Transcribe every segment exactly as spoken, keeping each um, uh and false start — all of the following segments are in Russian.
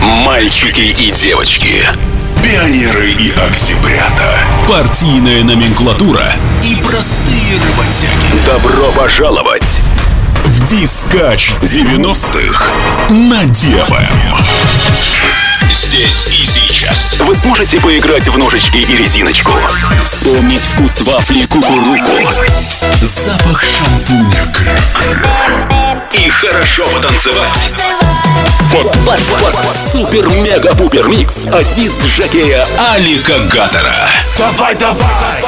Мальчики и девочки, пионеры и октябрята, партийная номенклатура и простые работяги. Добро пожаловать в Дискач девяностых на Девэм. Здесь и сейчас вы сможете поиграть в ножички и резиночку, вспомнить вкус вафли кукуруку, запах шампуня кря-кря и хорошо потанцевать под, под, под, под супер-мега-пупер микс от диск-жокея Алика Гаттера. Давай, давай!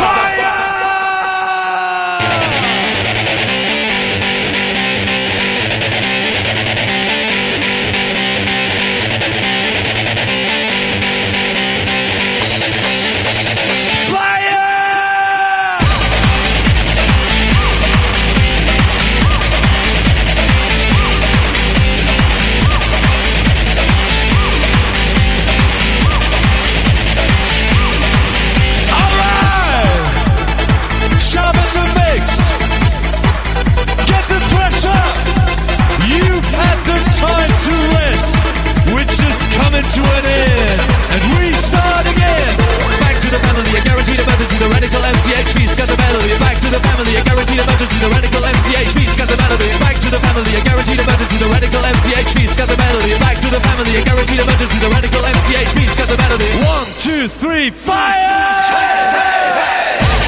To an end, and we start again. Back to the family, a guaranteed emergency. The radical M C H V's got the melody. Back to the family, a guaranteed emergency. The radical M C H V's got the melody. Back to the family, a guaranteed emergency. The radical M C H V's got the melody. Back to the family, a guaranteed emergency. The radical M C H V's got the melody. One, two, three, fire! Hey, hey, hey!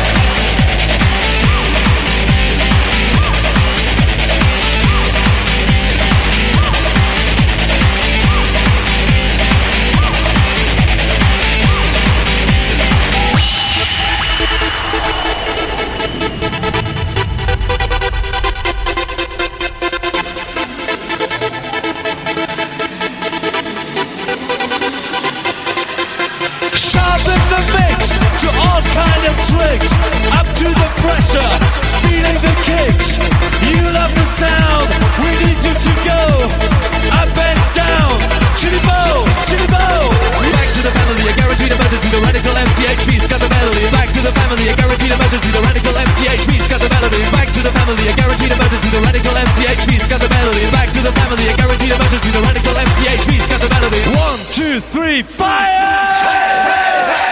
Twigs, up to the pressure, feeling the kicks. You love the sound, we need you to go up and down. Chitty bow, chitty bow. Back to the family, a guaranteed emergency. The radical M C H V's got the melody. Back to the family, a guaranteed emergency. The radical M C H V's got the melody. Back to the family, a guaranteed emergency. The radical M C H V's got the melody. Back to the family, a guaranteed emergency. The radical M C H V's got the melody. One, two, three, fire! Hey, hey, hey!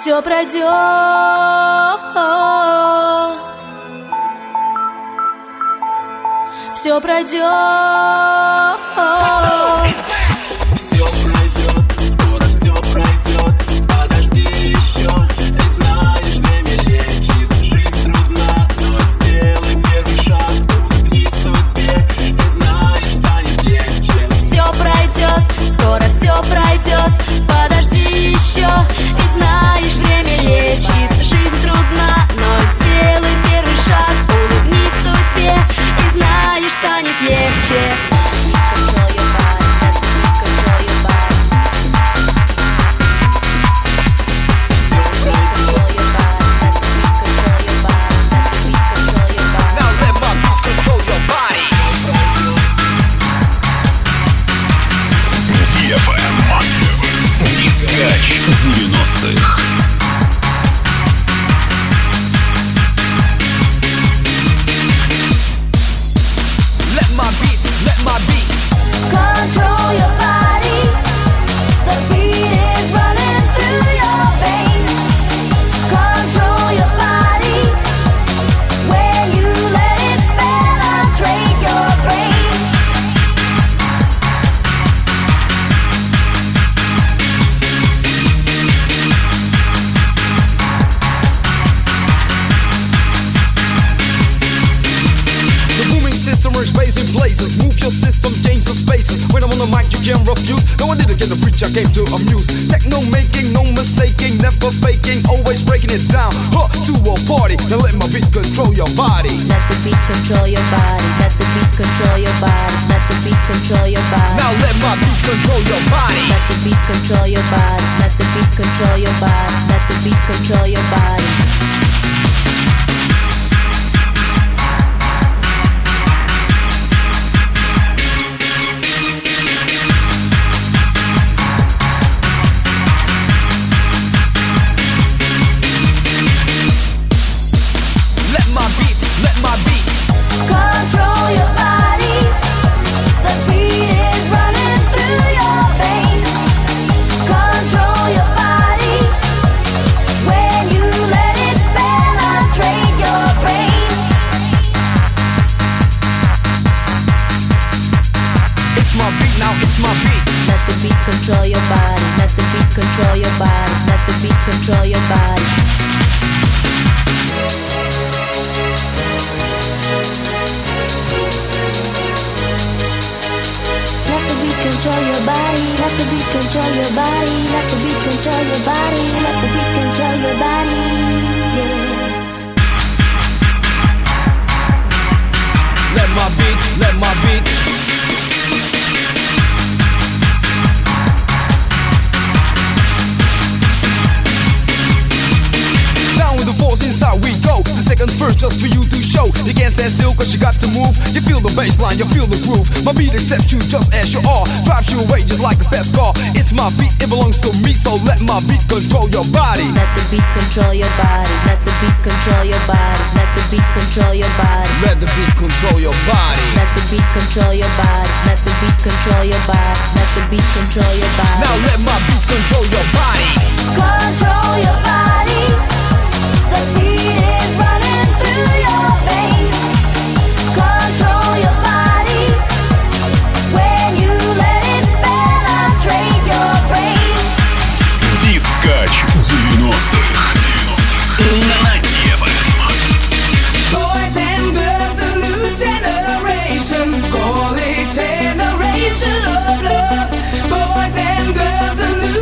все пройдет. Все пройдет. Все пройдет, скоро все пройдет. Подожди еще, ведь знаешь, время лечит. Жизнь трудна, но сделай первый шаг. Улыбнись судьбе, и знаешь, станет легче. Все пройдет, скоро все пройдет. Подожди еще, и знаешь, время лечит. Жизнь трудна, но сделай первый шаг. Улыбнись судьбе, и знаешь, станет легче. девяностых. Let my beat, let my beat Control your body. The beat is running through your veins. Control your body. When you let it penetrate your brain. The booming system is raising blazes. Move your system, change the spaces. When I'm on the mic, you can't refuse. No, I didn't get to preach, I came to amuse. Techno making, no mistaking, never faking, always breaking it down. Huh, to a party, now let my beat control your body. Let the beat control your body. Let the beat control your body. Let the beat control your body. Now let my beat control your body. Let the beat control your body. Let the beat control your body. Let the beat control your body. Let my beat, let my beat Control your body. The beat is running through your veins. Control your body. When you let it penetrate your brain. It's my beat now, it's my beat. Let the beat control your body. Let the beat control your body. Let the beat control your body. Let the beat control your body. Let the beat control your body. Let the beat control your body. Let the beat control your body. Yeah. Let my beat, let my beat down with the force inside we go. The second verse just for you to show. You can't stand still cause you got to move. You feel the bass line, you feel the groove. My beat accepts you just as you are. Drives you away just like a fast car. It's my beat, it belongs to me. So let my beat control your body. Let the beat control your body. Let the beat control your body. Let the beat control your body. Let the beat control your body. Let the beat control your body. Let the beat control your body. Let the beat control your body. Now let my beat control your body. Control your body. The beat is running through your veins. Control your body. When you let it penetrate your brain. Дискач девяностых. На Девэм. Boys and girls, the new generation, call it generation of love. Boys and girls, the new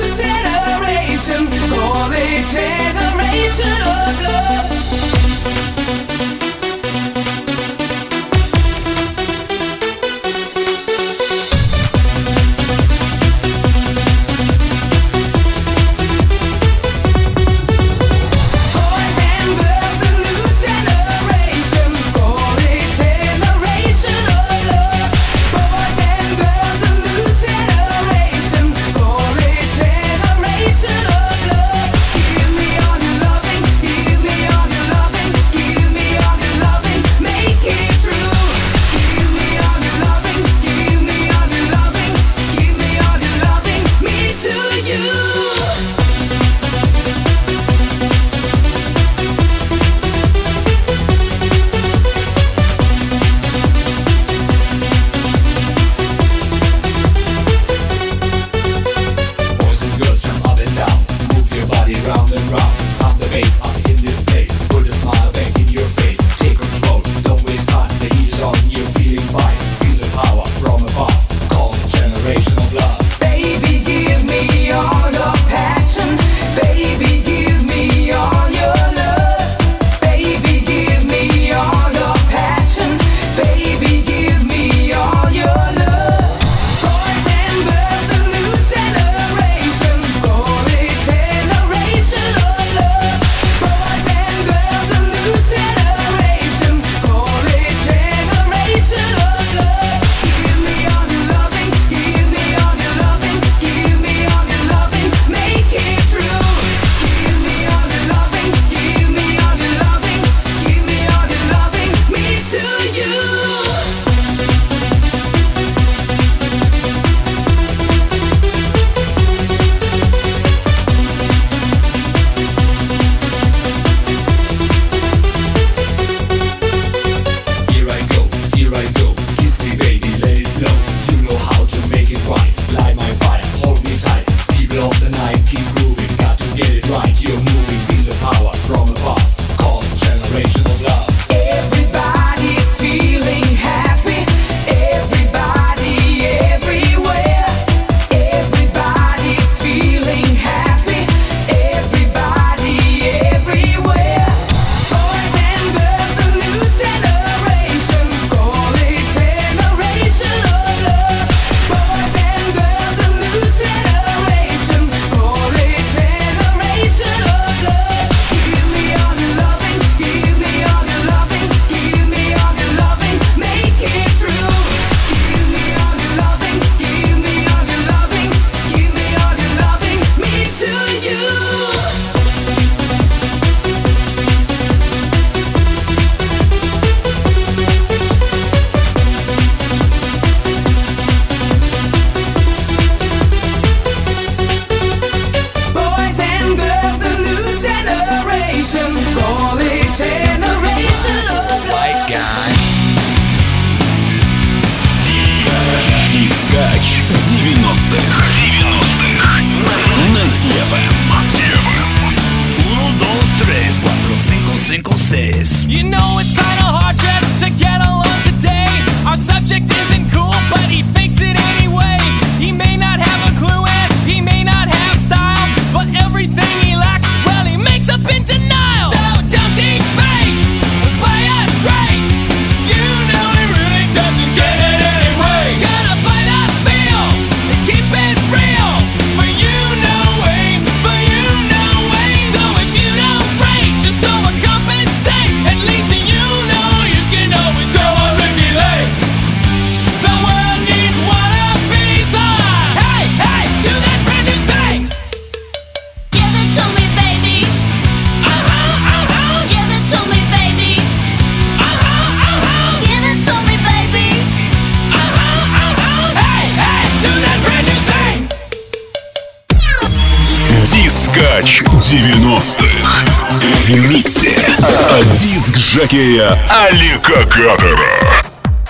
Дискач девяностых. В миксе от диск-жокея Алика Кадера.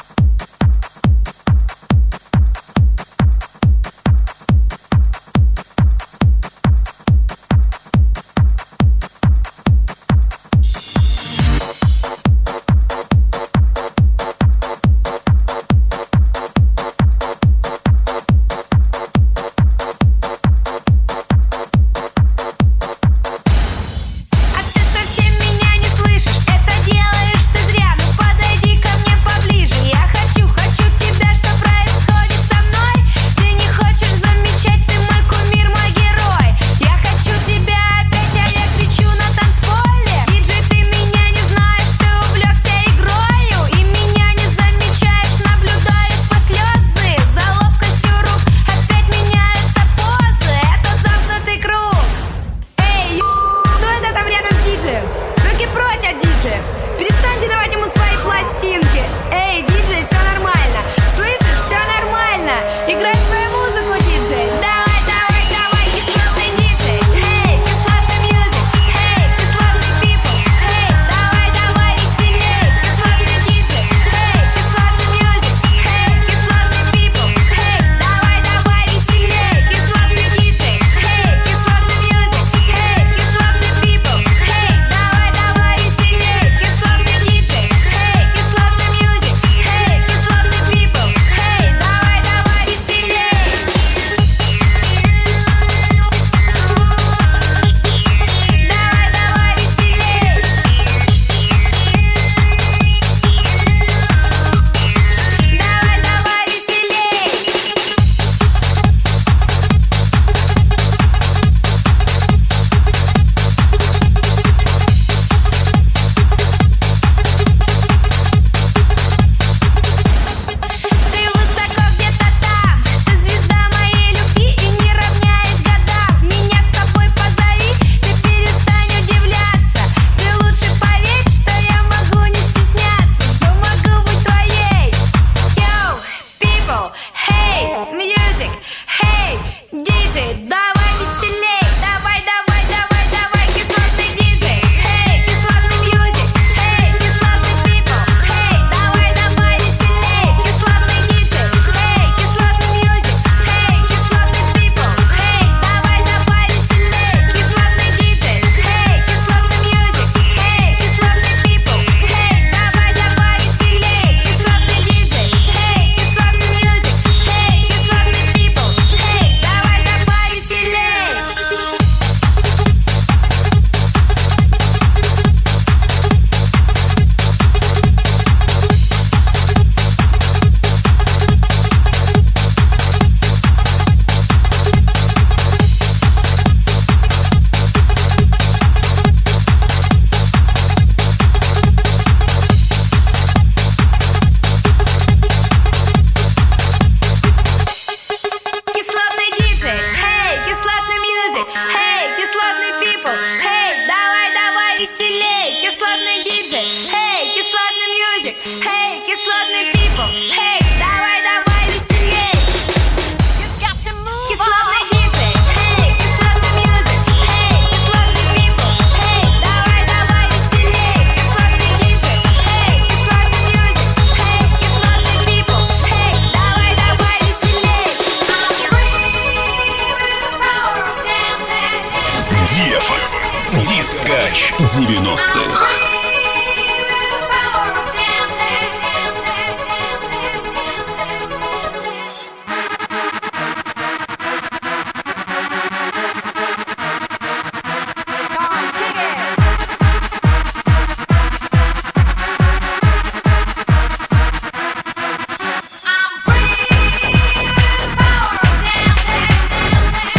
Дискач девяностых.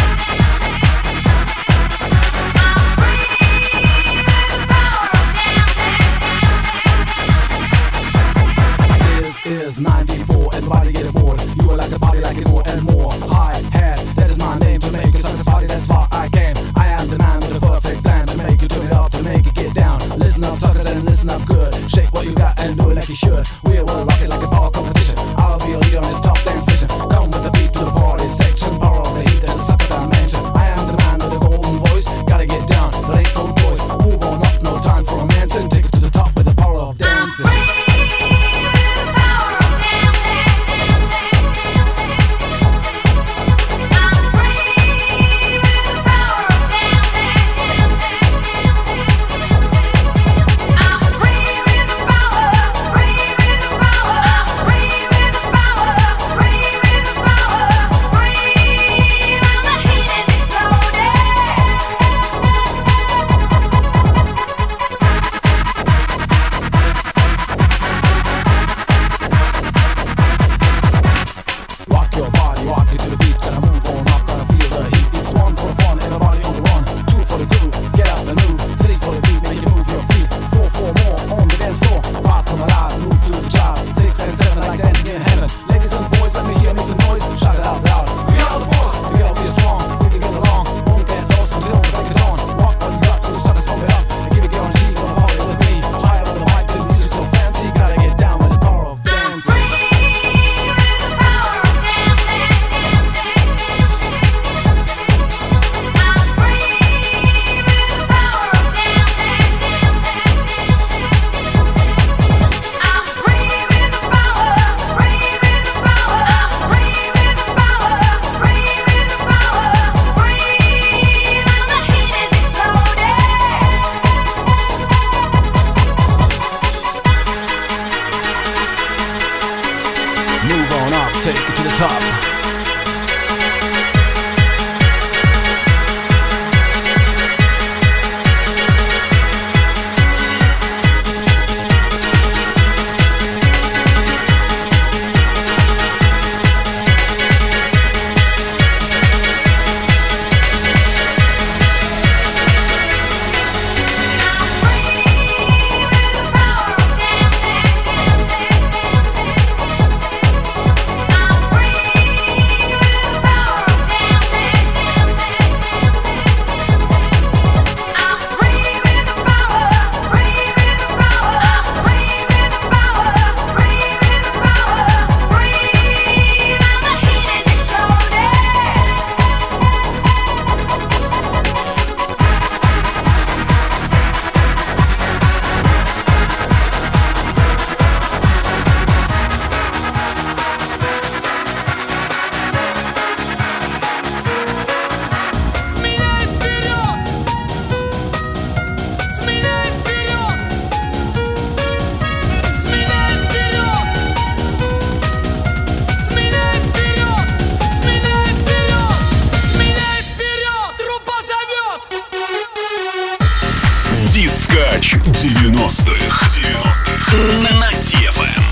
Down. Дискач девяностых. девяностых. На ди эф эм.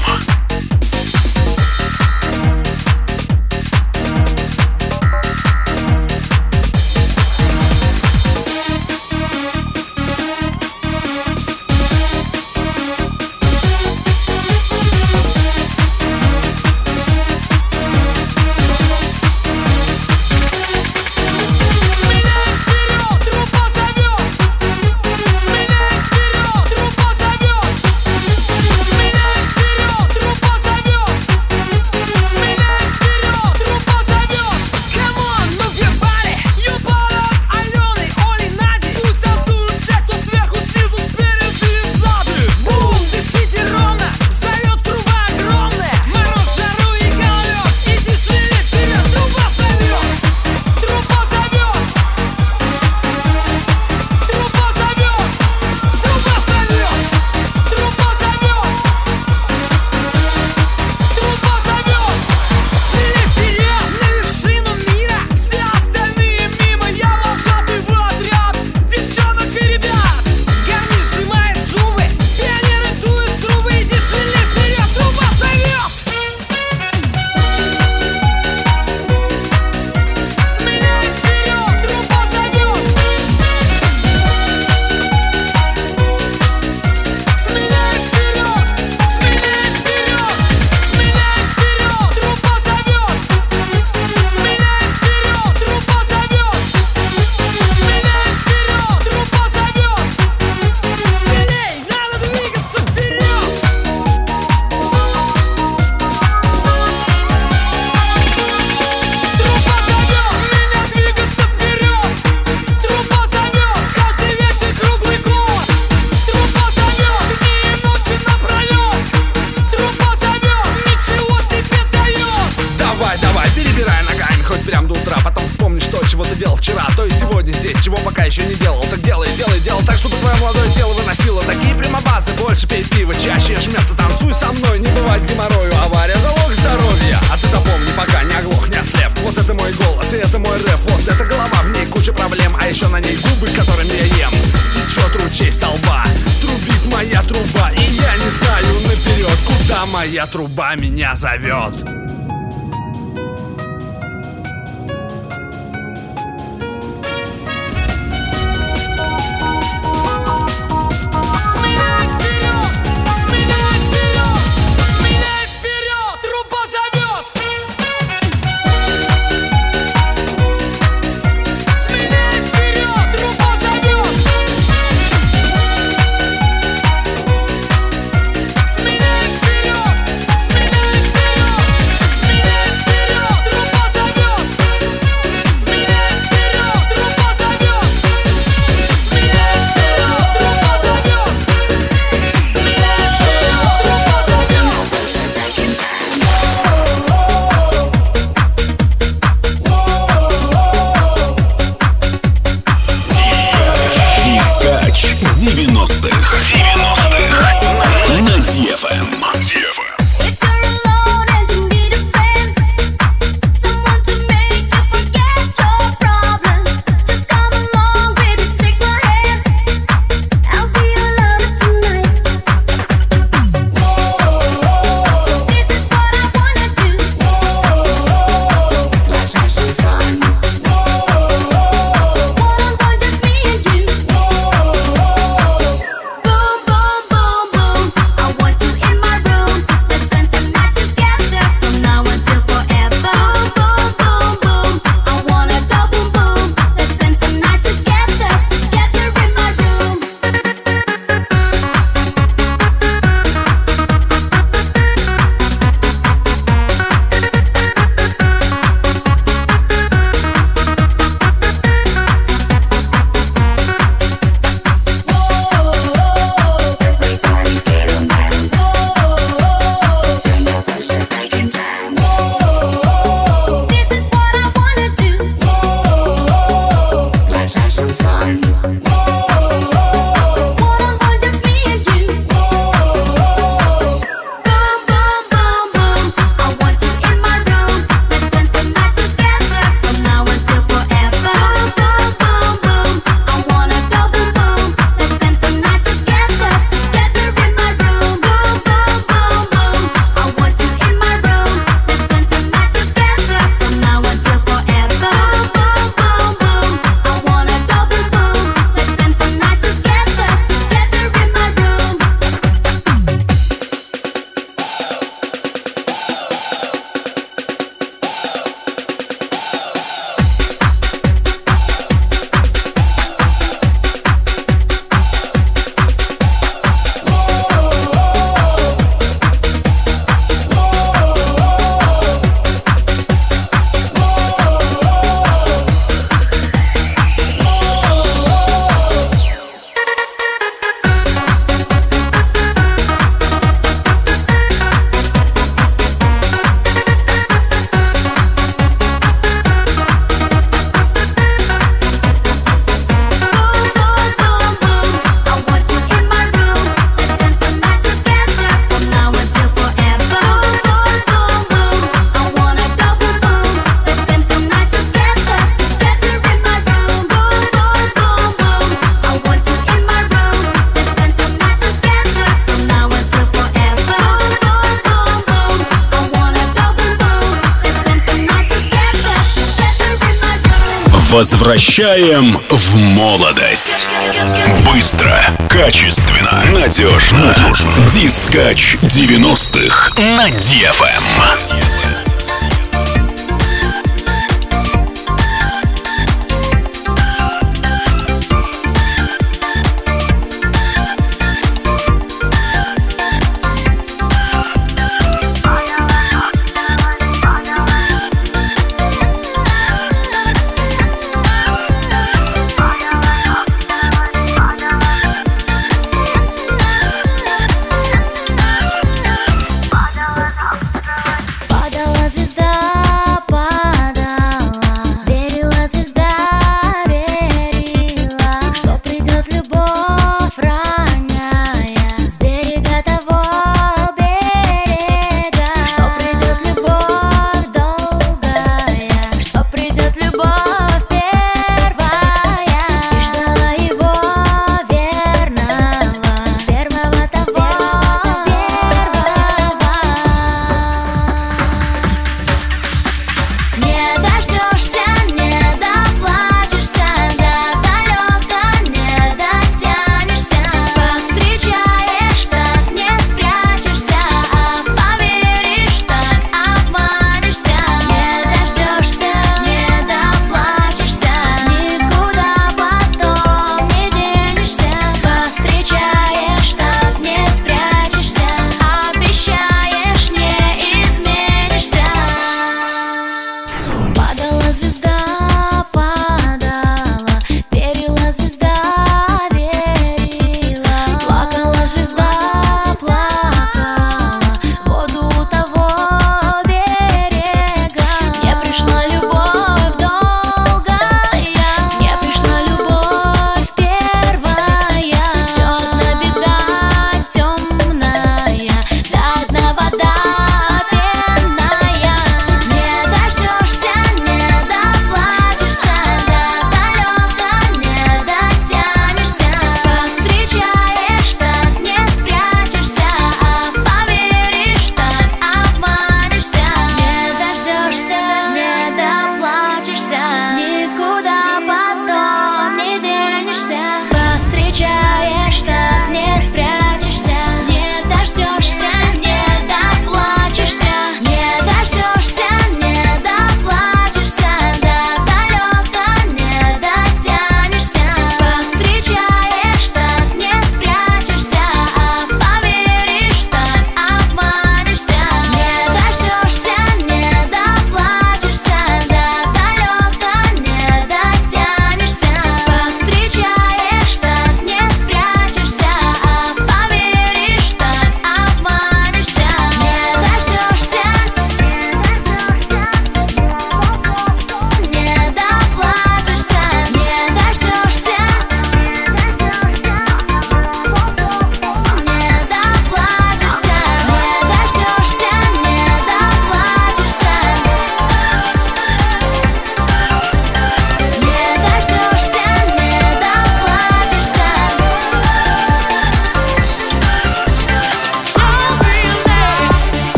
Моя труба меня зовет. Возвращаем в молодость. Быстро, качественно, надежно. надежно. Дискач девяностых на ди эф эм.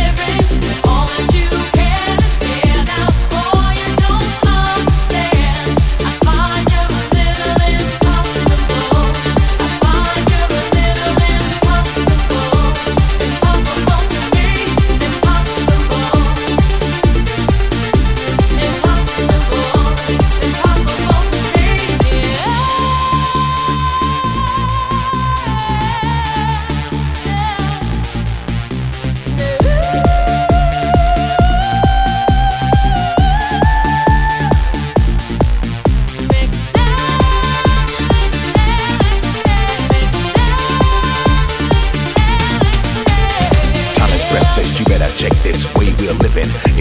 All that you can stand out, boy, you don't understand.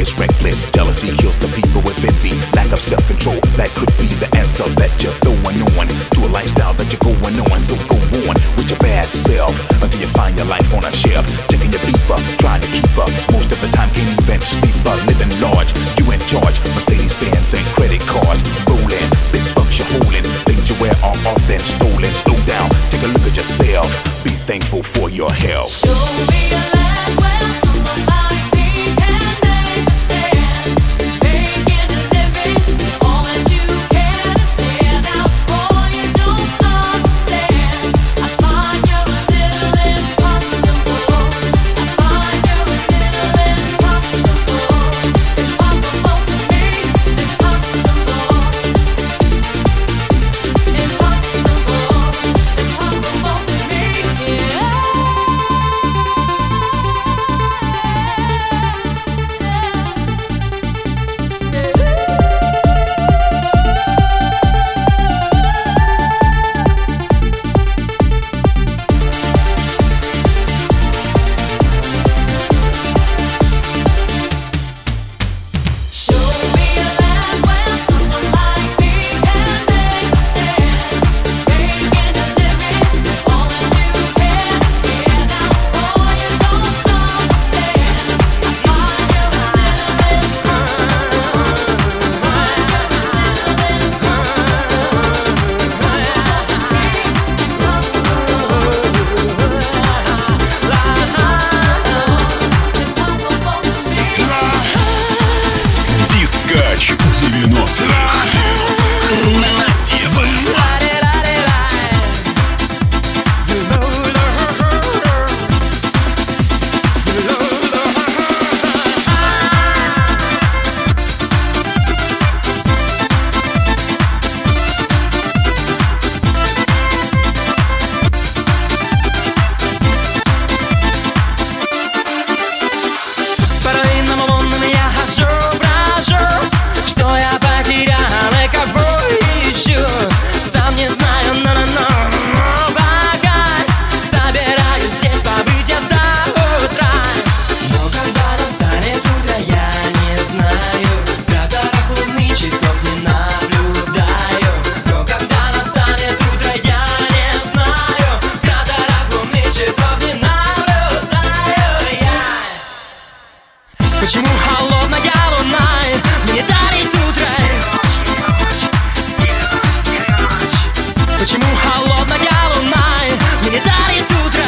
ruthless, reckless. Jealousy kills the people with envy. Lack of self-control, that could be the answer that you're throwing on to a lifestyle that you're going on. So go on with your bad self until you find your life on a shelf. Checking your beeper, trying to keep up. Most of the time can't even sleep up. Living large, you in charge. Mercedes-Benz and credit cards. Rolling, big bucks you're holding. Things you wear are often stolen. Slow down, take a look at yourself. Be thankful for your health. Don't be a lad where someone like me can understand. Making a living, all that you can is stand out. Boy, you don't understand. I find you a little impossible. I find you a little impossible. Impossible to me, impossible. Impossible, impossible to me, yeah. Дискач девяностых на Тефэм. По руинам лунным я хожу, брожу, что я потерял и кого ищу. Сам не знаю, но-но-но, пока собираюсь здесь побыть я до утра. Но когда настанет утро, я не знаю, кратерах луны часов не наблюдаю. Но когда настанет утро, я не знаю, кратерах луны часов не наблюдаю я. Почему холодная луна мне дарит утро? Почему холодная луна мне дарит утро?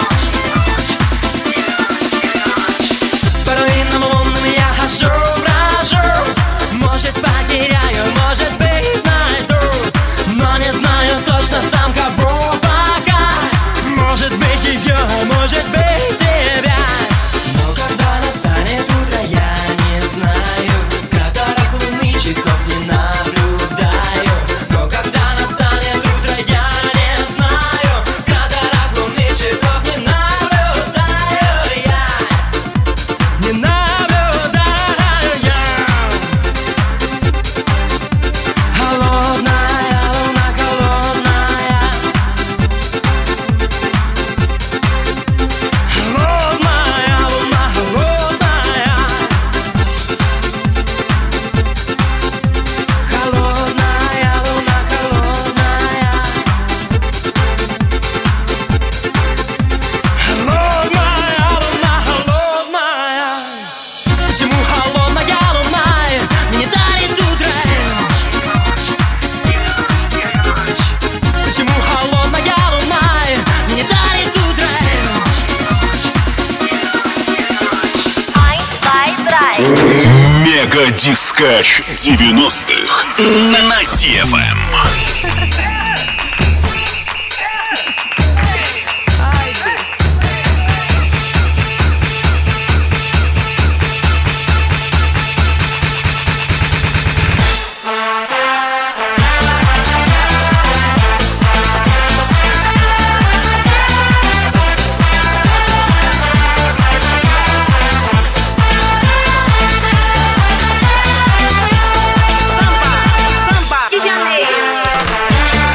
По руинам лунным я хожу, брожу. Может, потеряю, может быть, найду, но не знаю точно сам кого пока. Может быть, ее, может быть, тебя. Но когда настанет утро, я не знаю, кратерах луны часов не наблюдаю. Но когда настанет утро, я не знаю, кратерах луны часов не наблюдаю я. Не наблюдаю я. Холодная луна, холодная. Холодная луна, холодная. Холодная луна, холодная. Холодная луна, холодная. Почему холодная луна мне дарит утро? Почему холодная луна мне дарит утро? Мега Дискач девяностых на Тефэм. Чечены.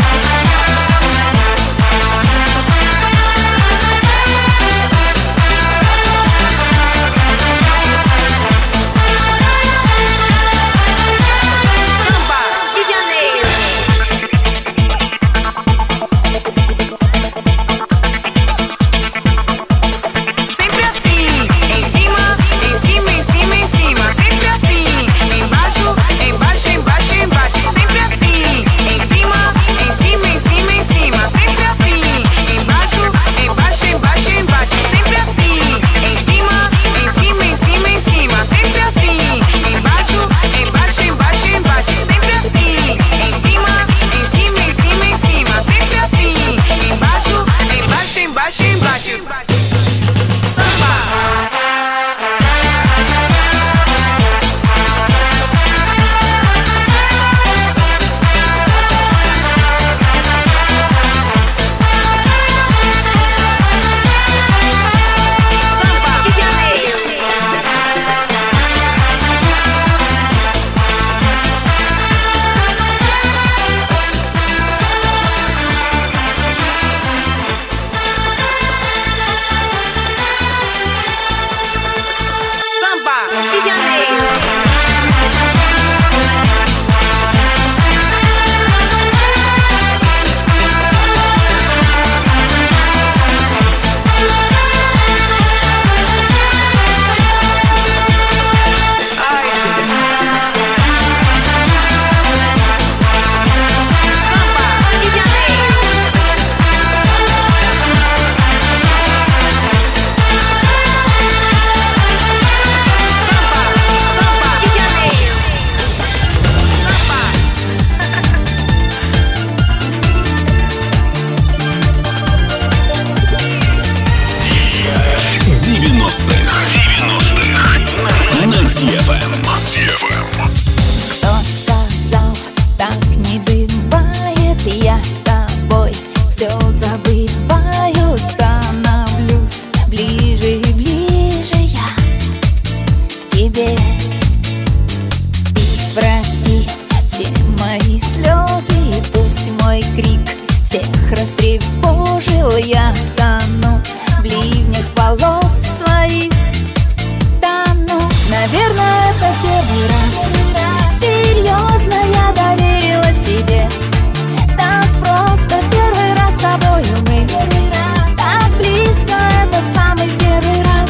все мои слезы и пусть мой крик всех растревожил. Я тону в ливнях волос твоих, тону. Наверное, это в первый раз. Серьезно, я доверилась тебе. Так просто первый раз с тобою мы. Так близко, это самый первый раз.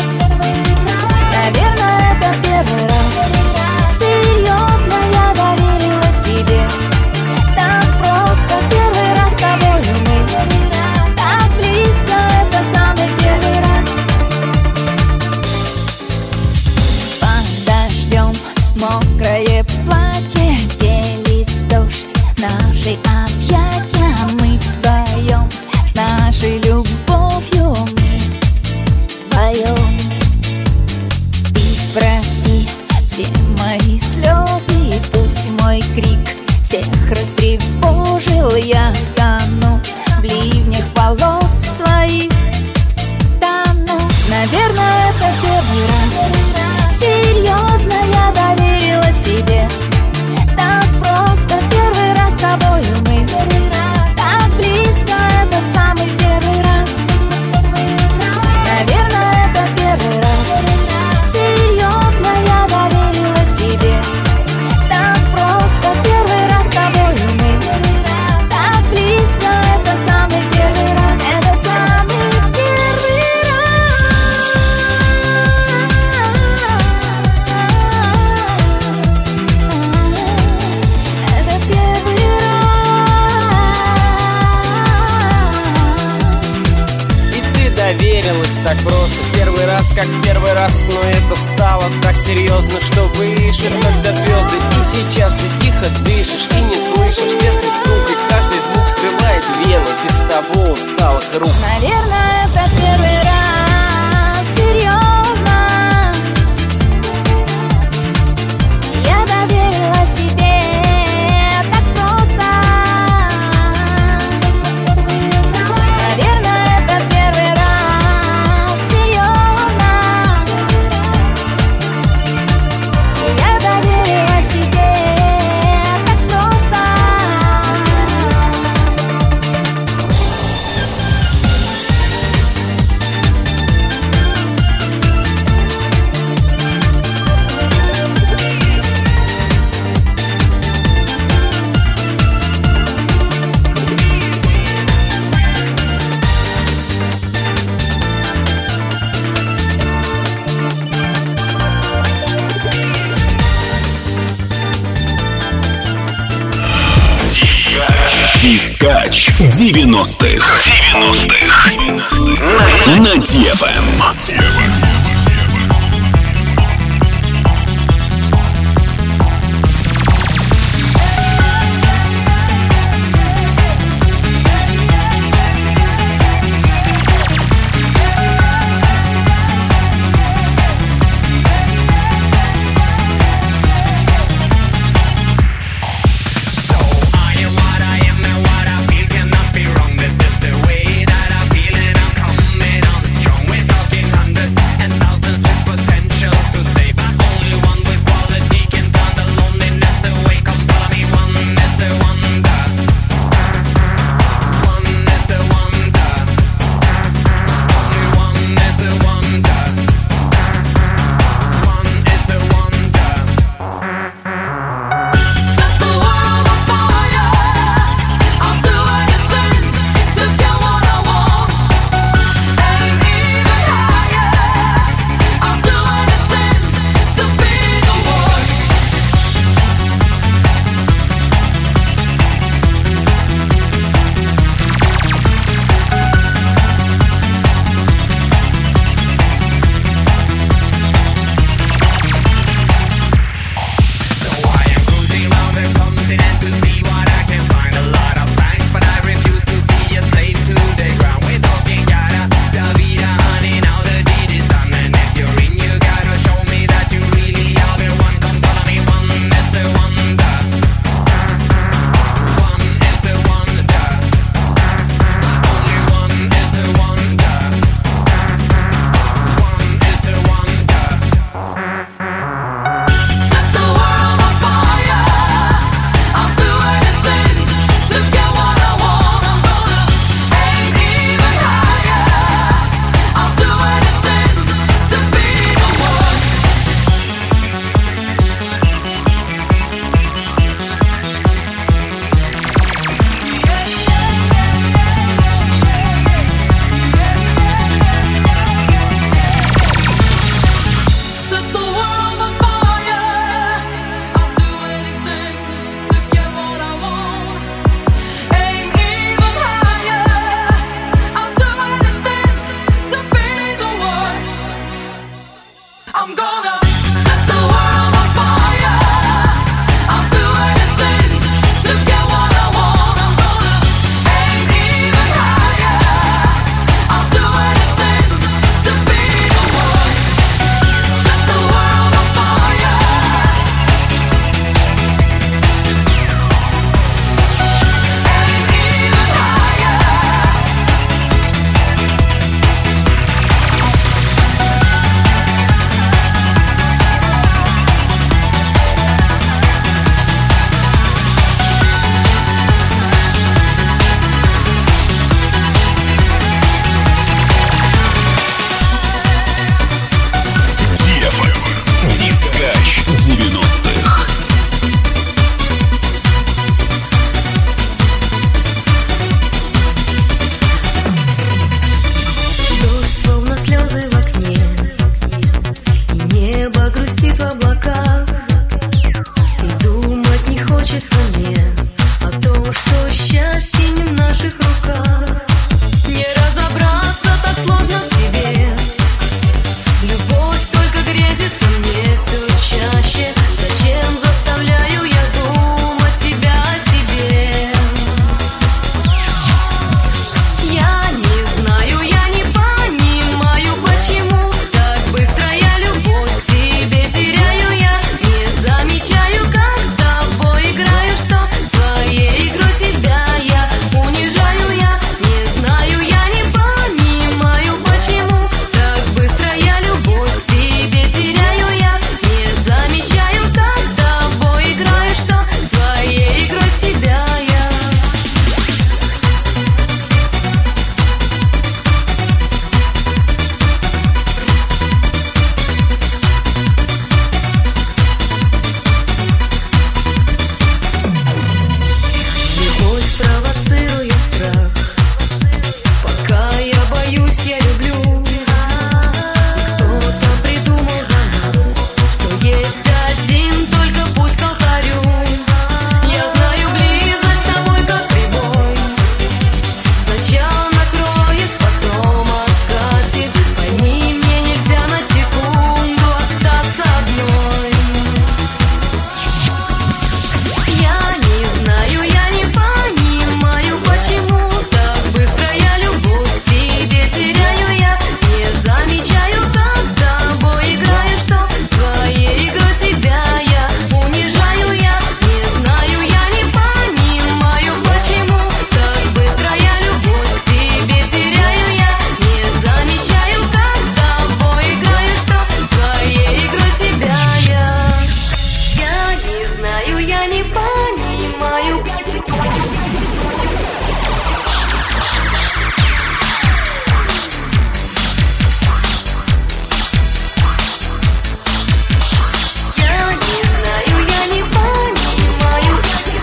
Наверное, это в первый раз. Серьезно, я доверилась тебе. Так просто первый раз с тобою мы. Так близко, это самый первый раз. Под дождем мокрое платье делит дождь наши объятия. Мы вдвоем с нашей любовью мы вдвоем. Ты прости все мои слезы и пусть мой крик всех растревожил. Я тону в ливнях волос твоих, тону. Наверное, это в первый раз. Серьезно, я доверилась тебе. Так просто первый раз с тобою мы. Так близко, это самый первый раз. Наверное, это в первый раз. Серьезно, я доверилась тебе. Так просто первый раз с тобою мы. Так близко, это самый первый раз. Это самый первый раз. Это первый раз. И ты доверилась так просто. Первый раз, как в первый раз. Но это стало так серьезно, что выше, когда звезды. И сейчас ты тихо дышишь и не слышишь. Сердце стукает, каждый звук скрывает вены. Без того усталых рук. Наверное, это первый раз. Серьезно, я доверилась тебе. Так просто. Наверное, это первый раз. Серьезно, я доверилась тебе. Так просто. Дискач девяностых. девяностых. На ди эф эм. This is the way that I feel, and I'm coming on strong. We're talking hundred. мечется мне о том, что счастье не в наших руках. Не разобраться так сложно в тебе. Любовь только грезится мне все чаще. Зачем заставляю я думать тебя о себе? Я не знаю, я не понимаю, почему так быстро я любовь к тебе теряю. Я не замечаю, как с тобой играю, что своей игрой тебя я унижаю. Я не знаю, я не понимаю, почему так быстро я любовь к тебе теряю. Я не замечаю, как с тобой играю, что своей игрой тебя я. Любовь провоцирует страх. Пока я боюсь, я люблю. Кто-то придумал за нас, что есть один только путь к алтарю. Я знаю, близость с тобой как прибой. Сначала накроет, потом откатит. Пойми, мне нельзя на секунду остаться одной. Я не знаю, я не понимаю, почему так быстро я любовь к тебе теряю. Я не замечаю, как с тобой играю, что своей игрой тебя я унижаю. Я не знаю, я не понимаю, почему так быстро я любовь к тебе теряю. Я не замечаю, как с тобой играю, что своей игрой тебя я. Я не знаю, я не понимаю. Я не знаю, я не понимаю.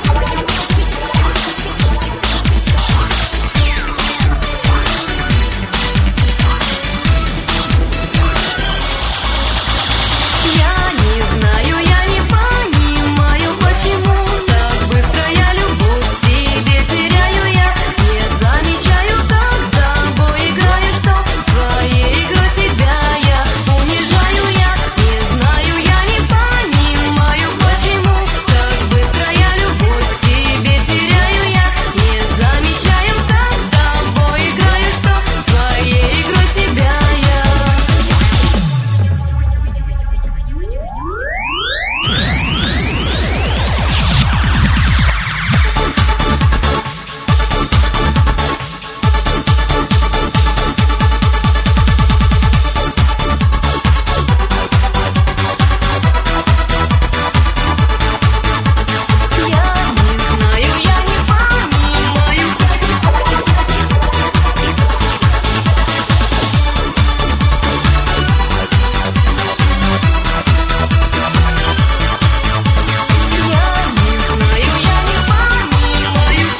Я не знаю, я не понимаю, почему так быстро я любовь к тебе теряю. Я не замечаю, как с тобой играю, что своей игрой тебя я унижаю. Я не знаю, я не понимаю, почему так быстро я любовь к тебе теряю. Я не замечаю, как с тобой играю, что своей игрой тебя я. Я не знаю, я не понимаю. Я не знаю, я не понимаю.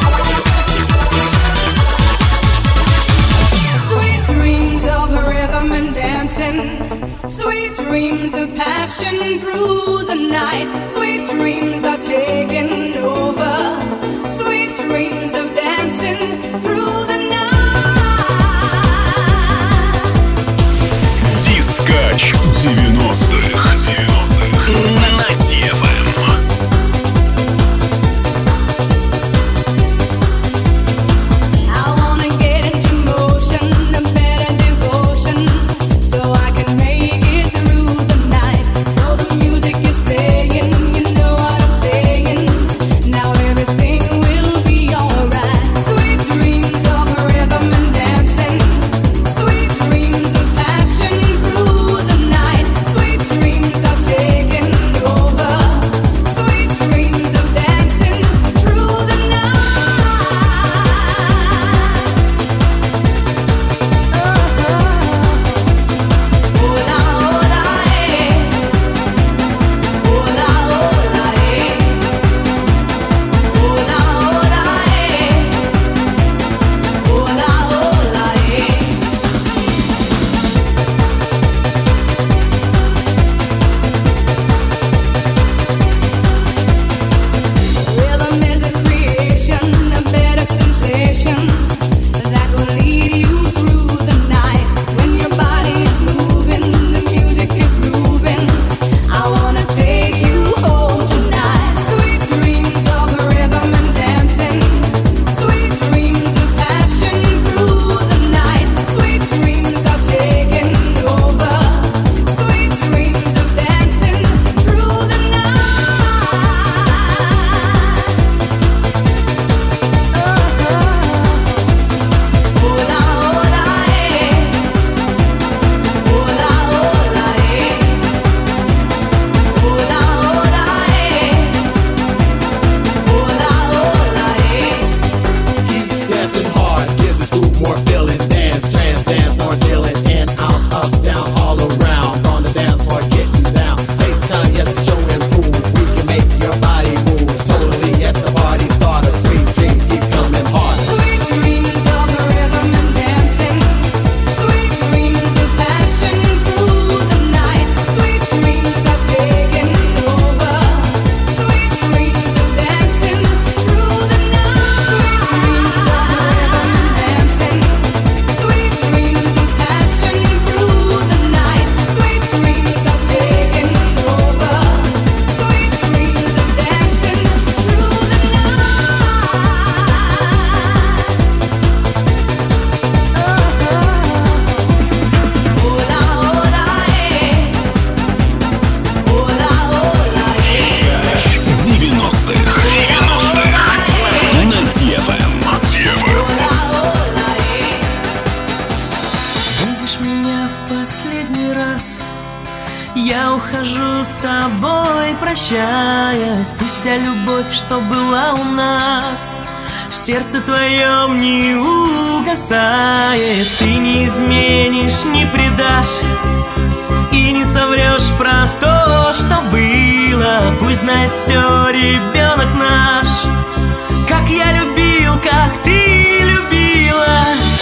Sweet dreams of rhythm and dancing. Sweet dreams of passion through the night. Sweet dreams are taking over. Sweet dreams of dancing through the night. Дискач девяностых. На ди эф эм. I wanna get into motion, a better devotion, so I can make it through the night. So the music is playing, you know what I'm saying. Now everything will be alright. Sweet dreams of rhythm and dancing, sweet dreams of passion through the night. Sweet dreams are тобой прощаюсь. Пусть вся любовь, что была у нас, в сердце твоем не угасает. Ты не изменишь, не предашь и не соврешь про то, что было. Пусть знает все ребенок наш, как я любил, как ты любила.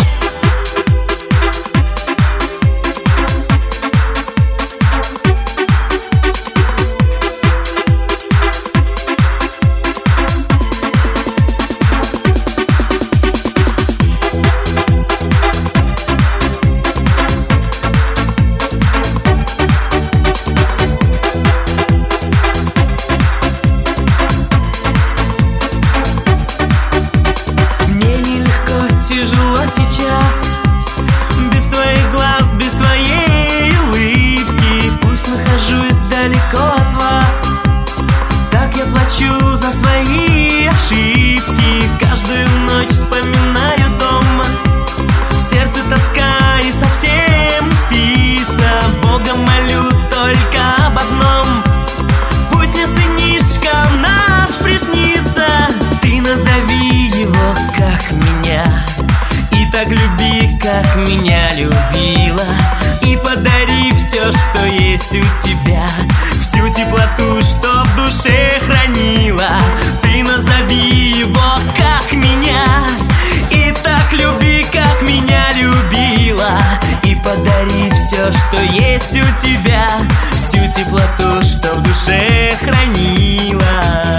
Сейчас без твоих глаз, без твоей улыбки. Пусть нахожусь далеко от вас, так я плачу за свои ошибки. Каждую ночь вспоминаю дома, в сердце тоска и совсем не спится. Бога молю только об одном: пусть мне сынишка наш приснится. Ты назови его, как меня, и так люби, как меня любила. И подари все, что есть у тебя, всю теплоту, что в душе хранила. Ты назови его, как меня, и так люби, как меня любила. И подари все, что есть у тебя, всю теплоту, что в душе хранила.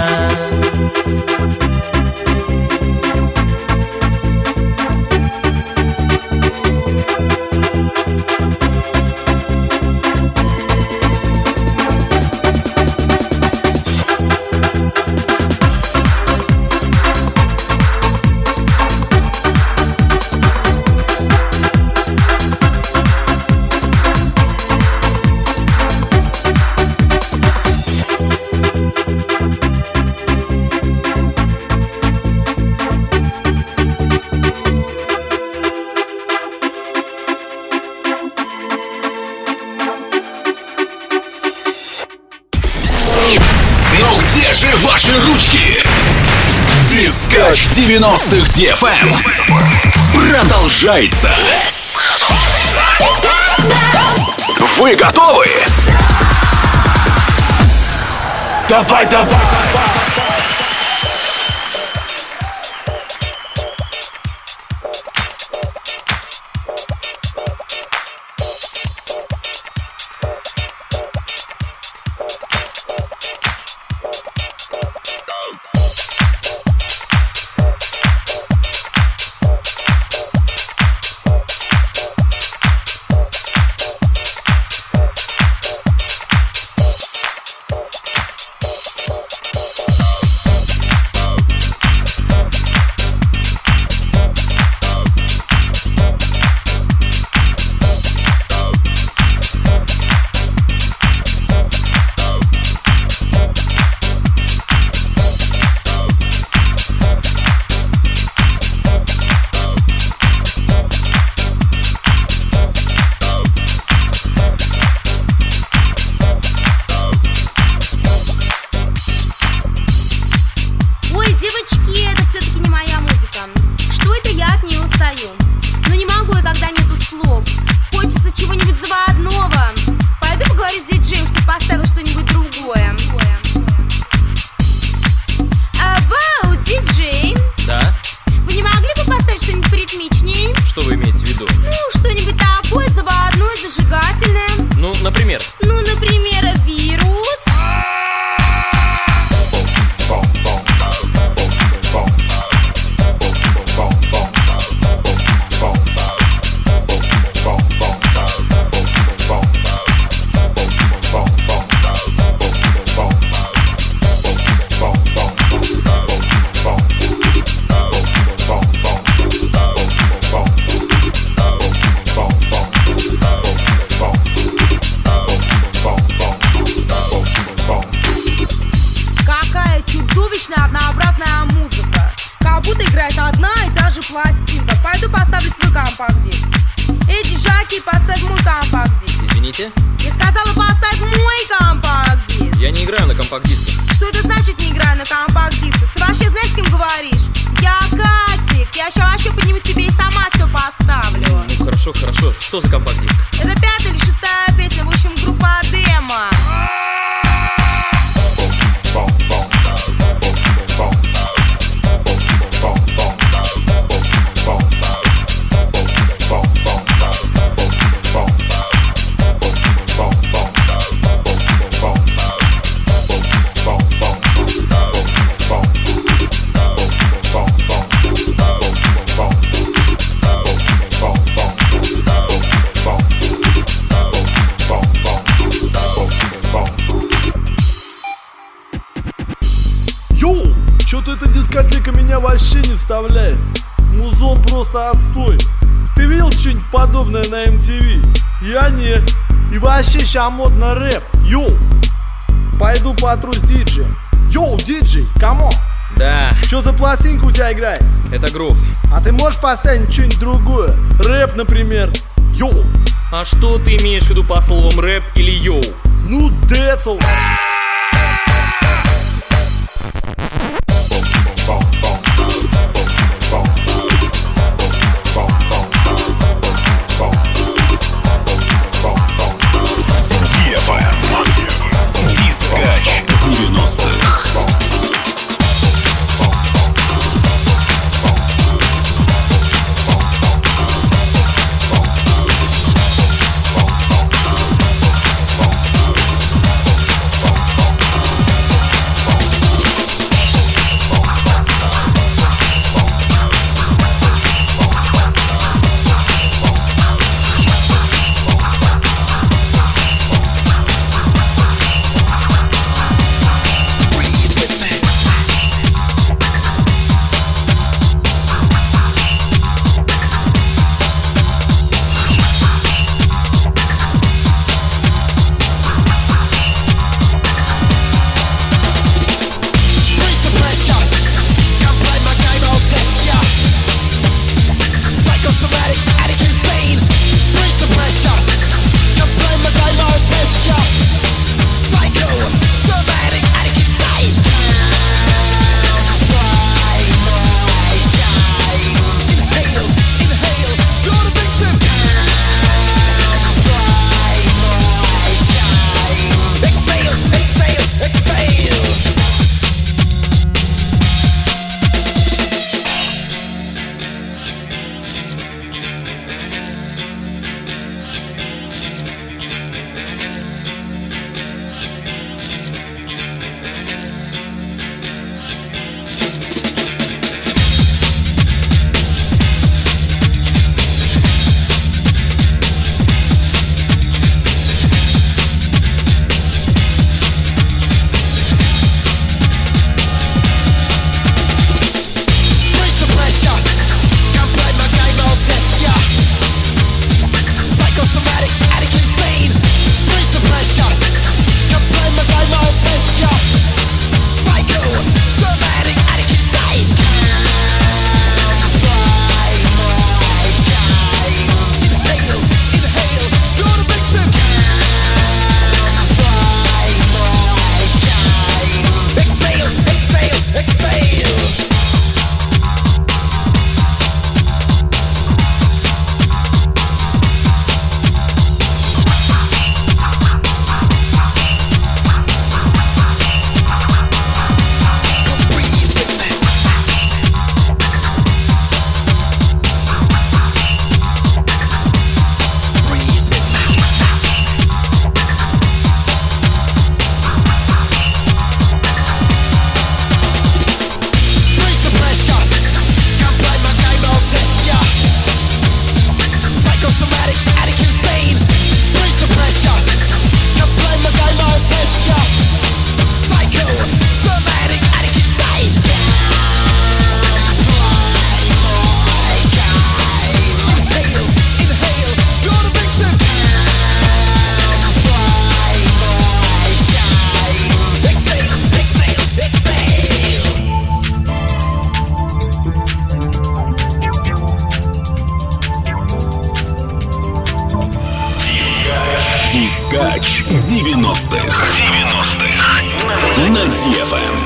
Ваши ручки. Дискач девяностых ди эф эм продолжается. Вы готовы? Давай, давай. например? Ну, например, вирус. Однообразная музыка, как будто играет одна и та же пластинка. Пойду поставлю свой компакт-диск. Эй, диджаки, поставь мой компакт-диск. Извините? Я сказала, поставь мой компакт-диск. компакт-дисках. Что это значит не играю на компакт-дисках? Ты вообще знаешь, с кем говоришь? Я Катик, я сейчас вообще подниму тебе и сама все поставлю. Ну хорошо, хорошо, что за компакт-диск? Это пятая или шестая песня, в общем, группа Демо. Чё-то эта дискотека меня вообще не вставляет. Музон просто отстой. Ты видел что-нибудь подобное на эм ти ви? Я нет. И вообще ща модно рэп. Йоу. Пойду потру с диджеем. Йоу, диджей, камон. Да. Чё за пластинка у тебя играет? Это грув. А ты можешь поставить что-нибудь другое? Рэп, например. Йоу. А что ты имеешь в виду по словам рэп или йоу? Ну, децл. Дискач девяностых. Дискач девяностых. девяностых. на ди эф эм.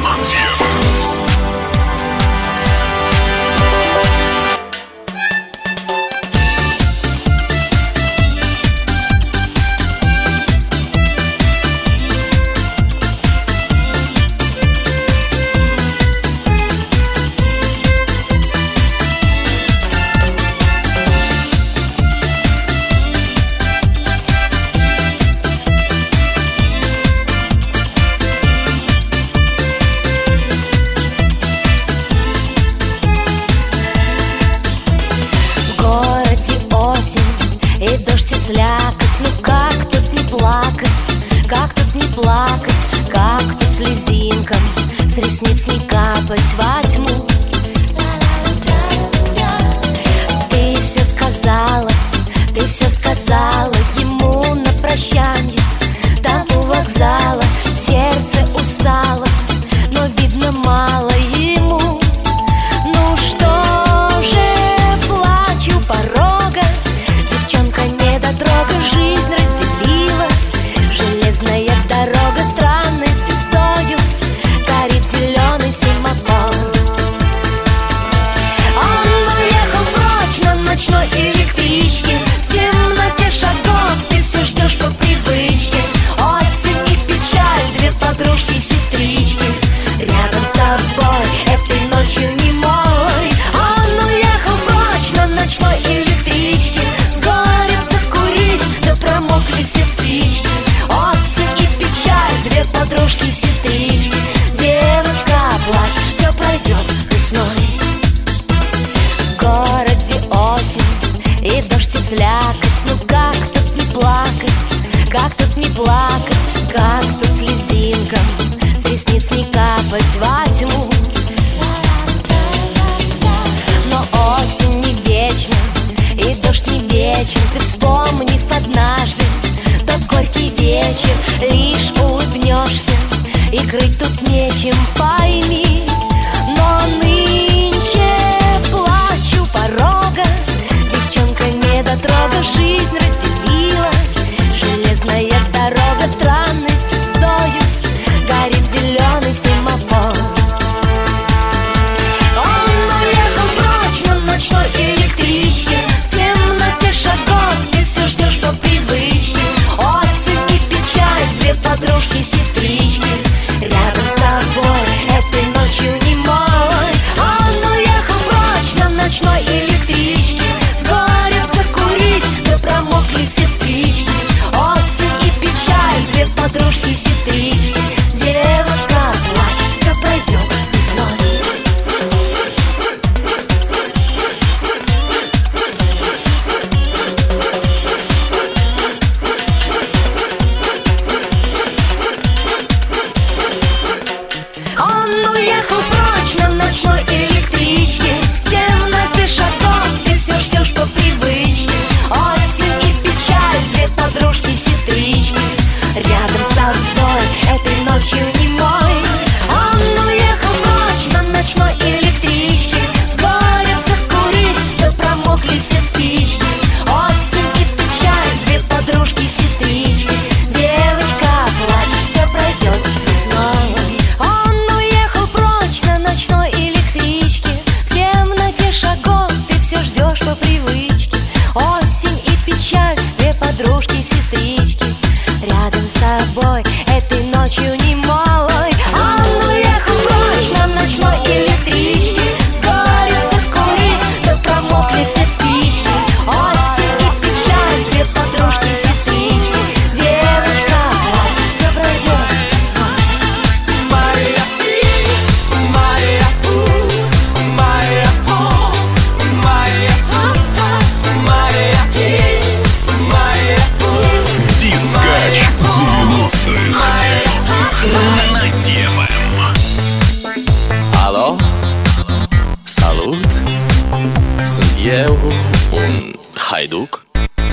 haiduc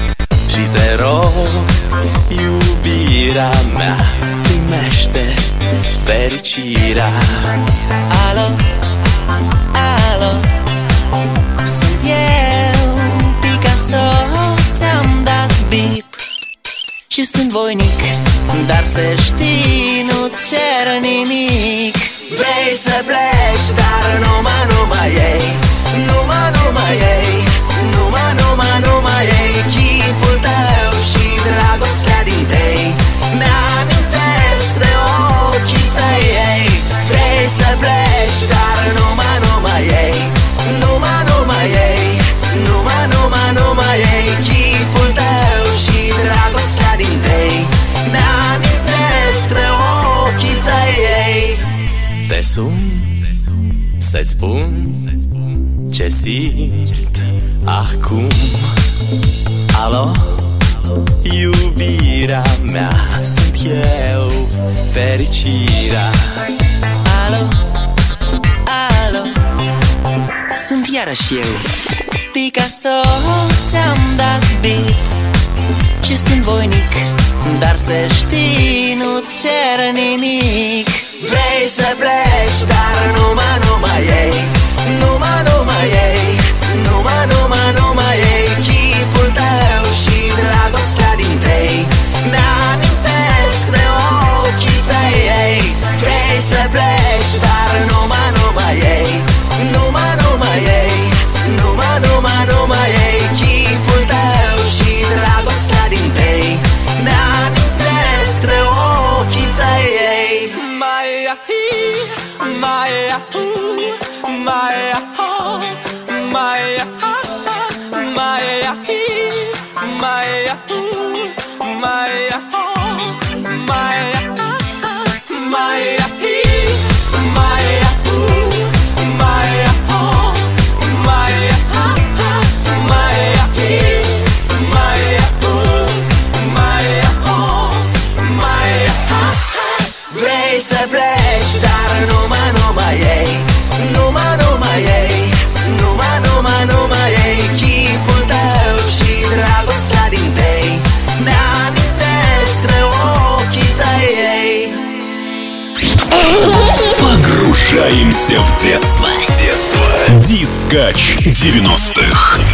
și te rog, iubirea mea, primește fericirea. Alo, alo, sunt eu, Picasso, ți-am dat bip și sunt voinic dar să știi, nu-ți cer nimic. Vrei să pleci, dar numai, numai ei, numai, numai ei, numai, numai, numai ei, chipul tău și dragostea din tei. Mi-amintesc de ochii tăi ei. Vrei să pleci, dar numai, numai ei, numai, numai ei, numai, numai, numai ei, chipul tău și dragostea din tei. Mi-amintesc de ochii tăi ei. Te sun să-ți spun ce simt acum. Alo, iubirea mea, sunt eu, fericirea. Alo, alo, sunt iarăși eu, Picasso, ți-am dat beat și sunt voinic, dar să știi, nu-ți cer nimic. Vrei să pleci, dar numai, numai ei, numai, numai ei, numai, numai, numai ei, chipul tău și dragostea din tei. Mi-amintesc de ochii tăi ei. Vrei să pleci, dar numai, numai ei, numai, numai ei, numai, numai, numai ei, chipul tău și dragostea din tei. Mi-amintesc de ochii tăi ei. Maya, Maya, Maya, Maya, Maya, Maya, Maya, Maya, Maya. Să pleci, dar numai, numai ei, numai, numai ei, numai, numai, numai ei, chipul tău și dragostea din tei. Mi-amintesc de ochii tăi ei. Погружаемся в детство. Детство. Дискач девяностых.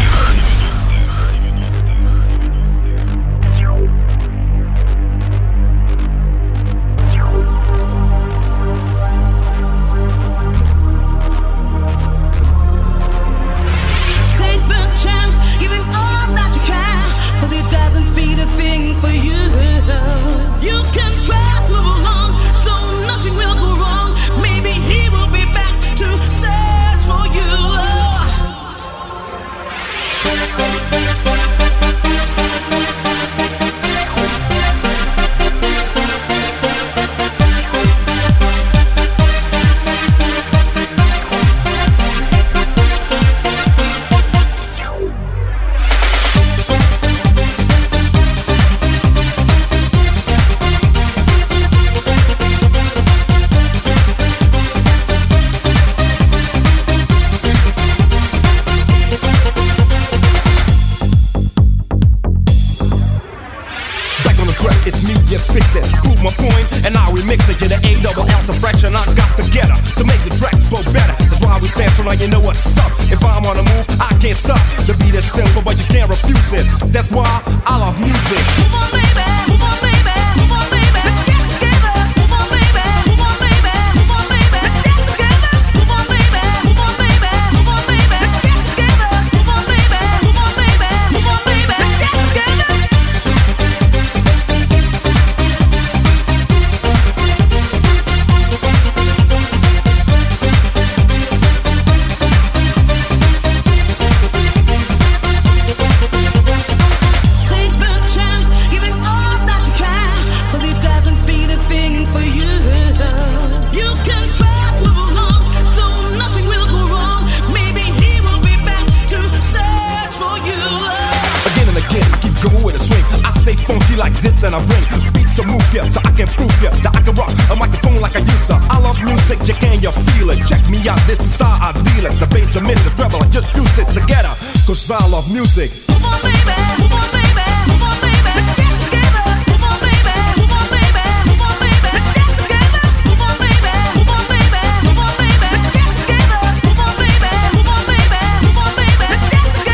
You know what's up. If I'm on the move, I can't stop. The beat is simple, but you can't refuse it. That's why I love music. Move on, baby. Move on, baby. Move on, baby. Let's get together. Move on, baby. Move on, baby. Move on, baby. Let's get together. Move on, baby. Move on, baby. Move on, baby. Let's get together. Move on, baby. Move on, baby. Move on, baby. Let's get together. Funky like this and I bring beats to move ya, so I can prove ya that I can rock a microphone like I used to. I love music, you can, you feel it. Check me out, this is how I deal it. The bass, the mid, the treble, I just fuse it together, cause I love music. Move on, baby, move on, baby, move on, baby, let's get together. Move on, baby, move on, baby, move on, baby, let's get together. Move on, baby, move on, baby, move on, baby, let's get together. Move on, baby, move on, baby, move on, baby, let's get together.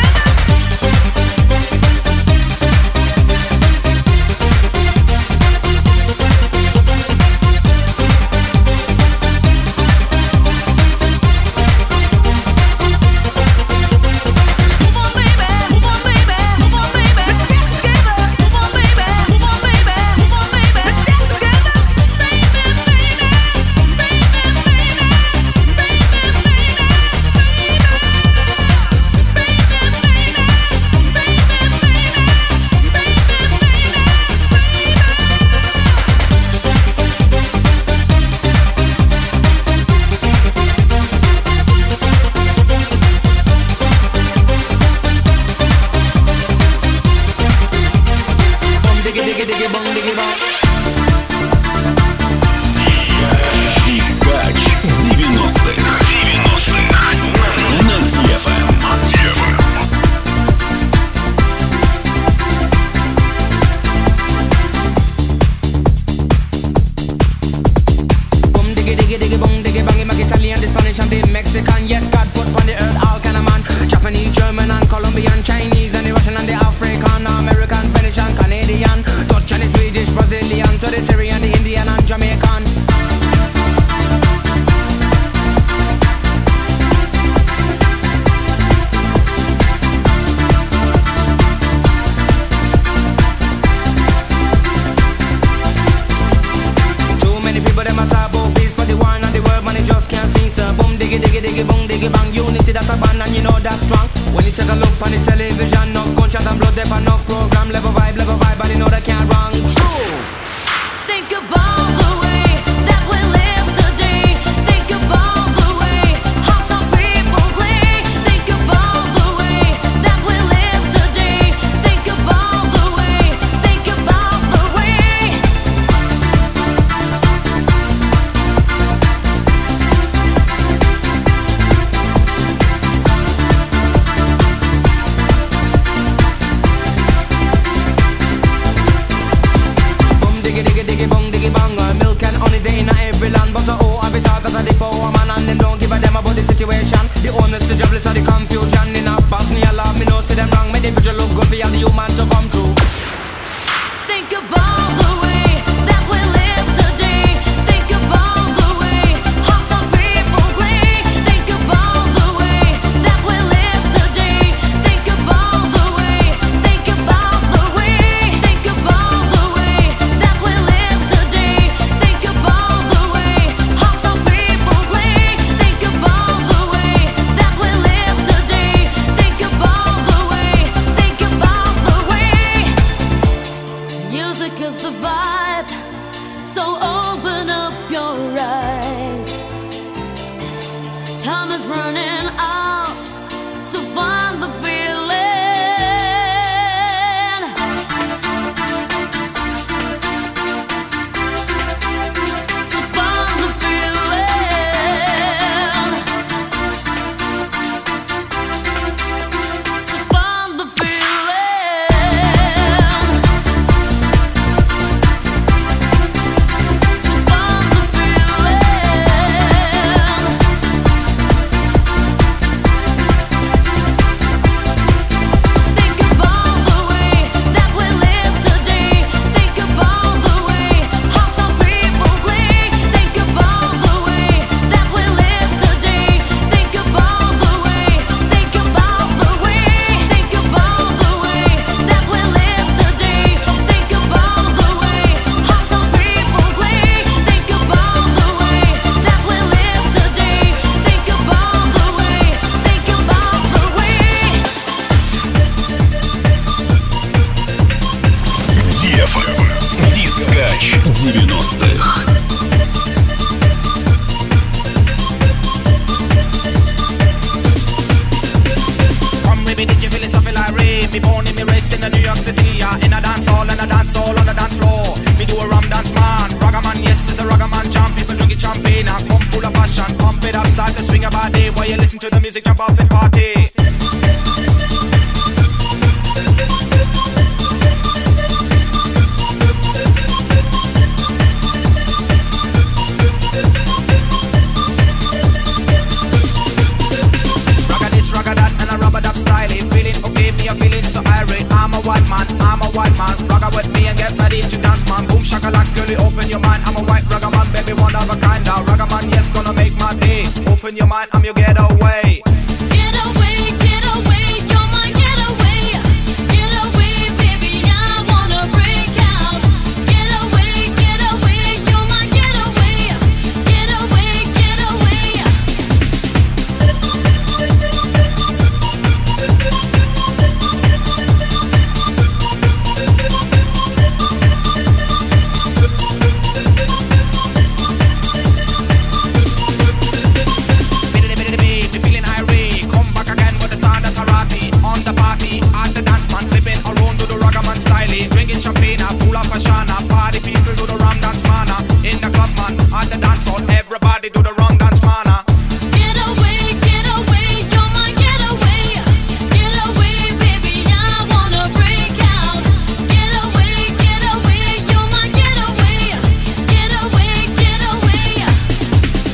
diggy diggy bong diggy bang. Him like Italian, the Spanish and the Mexican. Yes, God put on the earth all kind of man. Japanese, German and Colombian, Chinese and the Russian and the African, American, Venetian, Canadian, Dutch and the Swedish, Brazilian, to the Syrian, the Indian and Jamaican. Diggy bong diggy bang, unity that's a band and you know that's strong. When you set a look on the television, no gunshot and blood, there no program, level vibe, level vibe, but you know they can't wrong. True. Think about the way that we live today. Think about the way how some people play. Think about the way that we live today. Think about the way. Think about the way. The owners, the jobless, are the confusion. In a Bosnia, love me, no see them wrong. Make the future look good for all the human to come true. Think about the way that we live today. Think about the way how some people play. Think about the way that we live today. Think about the way. Think about the way. Think about the way that we live today. Think about the way how some people play. Think about the way that we live today. Think about the way. Think about the way. Music is the vibe, so open up your eyes. Time is running out, so find the feeling. So find the feeling. So find the feeling. So find the Think about the way that we live today. Think about the way how some people play. Think about the way that we live today. Think about the way. Think about the way. Think about the way that we live today. Think about the way how some people play. Think about the way that we live today. Think about the way. Think about the way. Деф. Дискач девяностых. Come with me, did you feel it? Something like rain. Me born in me raised in the New York City, yeah. In a dance hall and a dance hall on the dance floor. Me do a rum dance man, ragaman, yes, it's a ragaman jam. People drinking champagne and come full of passion. Pump it up, start to swing about day while you listen to the music, jump up and party. Ragga this, ragga that, and a rubber dub style. Feeling okay, me a feeling so irate. I'm a white man, I'm a white man. Ragga with me and get ready to dance, man. Boom shakalak, girlie, open your mind. I'm a white ragga man, baby, one of a kind. Now ragga man, yes, gonna make my day. Open your mind, I'm your getaway. Get away, get away, you're my getaway. Get away, baby, I wanna break out. Get away, get away, you're my getaway. Get away, get away. Biddy biddy biddy, you feeling irate? Come back again with the sound of karate. On the party, at the dance man, flipping around to the ragga man style. Drinking champagne, full of passion. Party people do the rum dance man. In the club man, at the dance hall, everybody do the rum dance man. Get away, get away, you're my getaway. Get away, baby, I wanna break out. Get away, get away, you're my getaway. Get away, get away.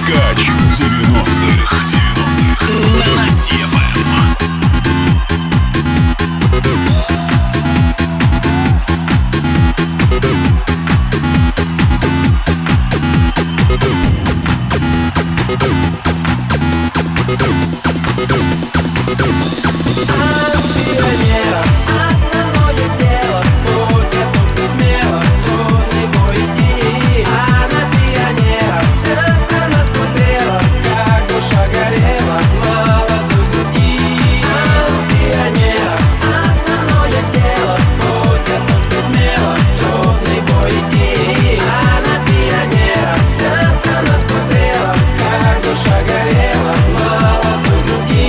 Дискач девяностых. На ди эф эм. Основное дело, будь готов смело, трудный бой иди. А на пионера вся страна смотрела, как душа горела, молодой груди. А у пионера основное дело, будь готов смело, трудный бой иди. А на пионера вся страна смотрела, как душа горела, молодой груди.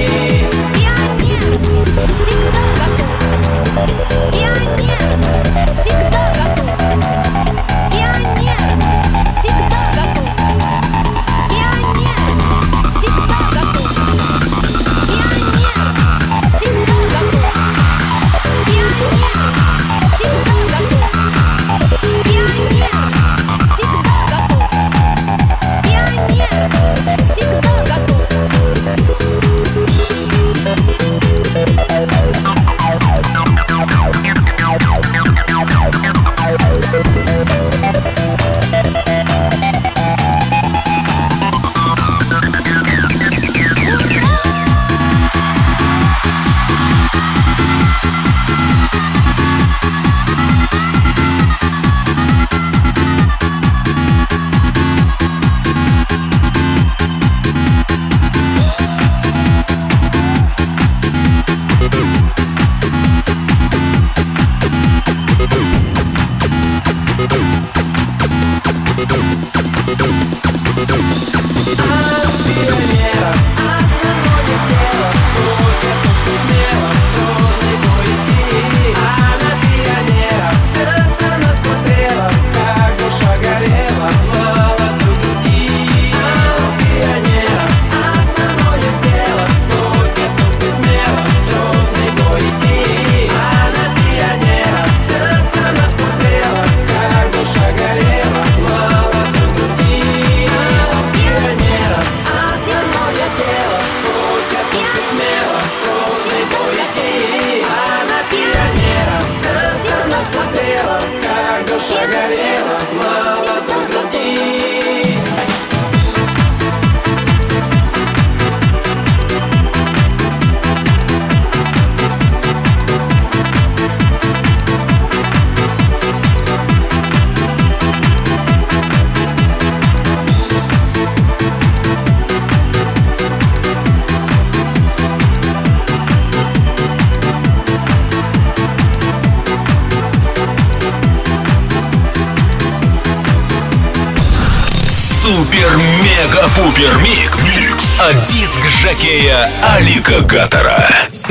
Супер-мега-пупер-микс от диск-жокея Алика Гатора.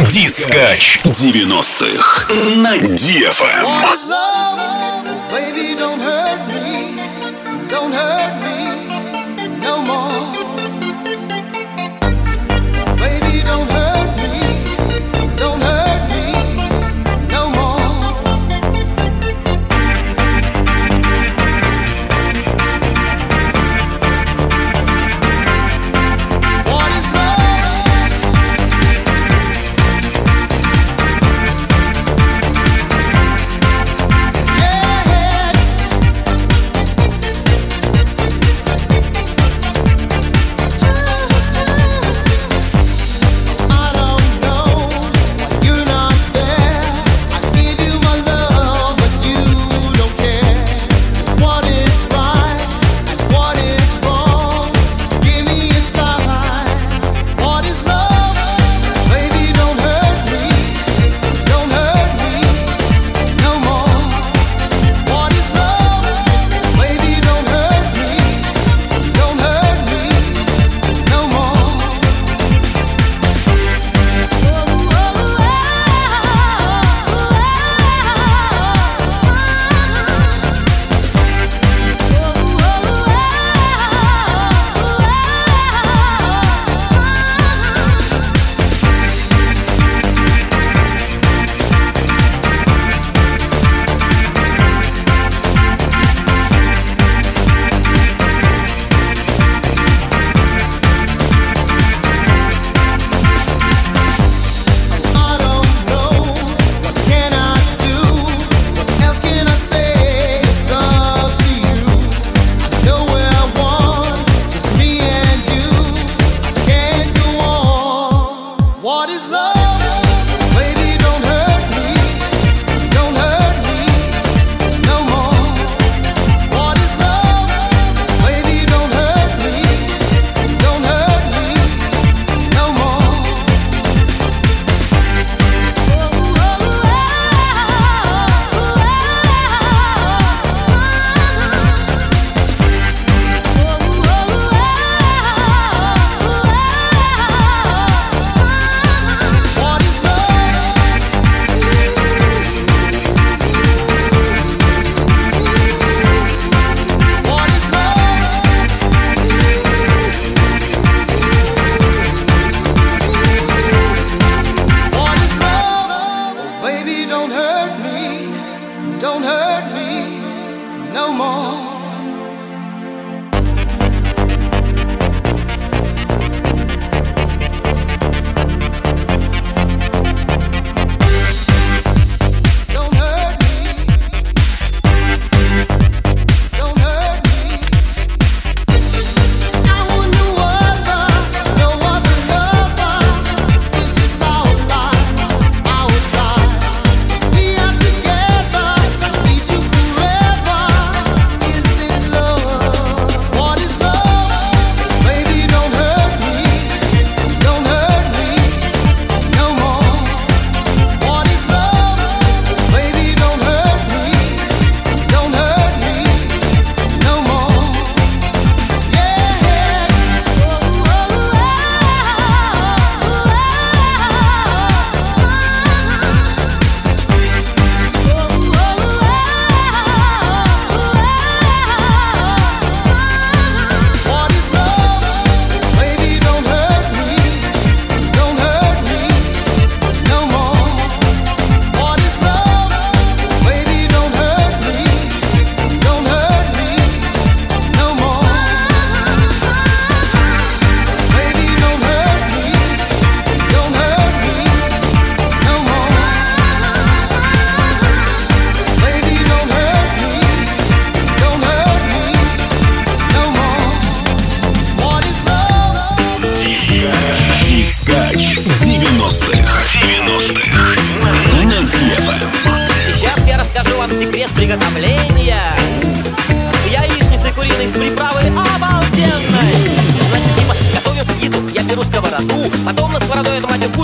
Дискач девяностых на ди эф эм. What is love?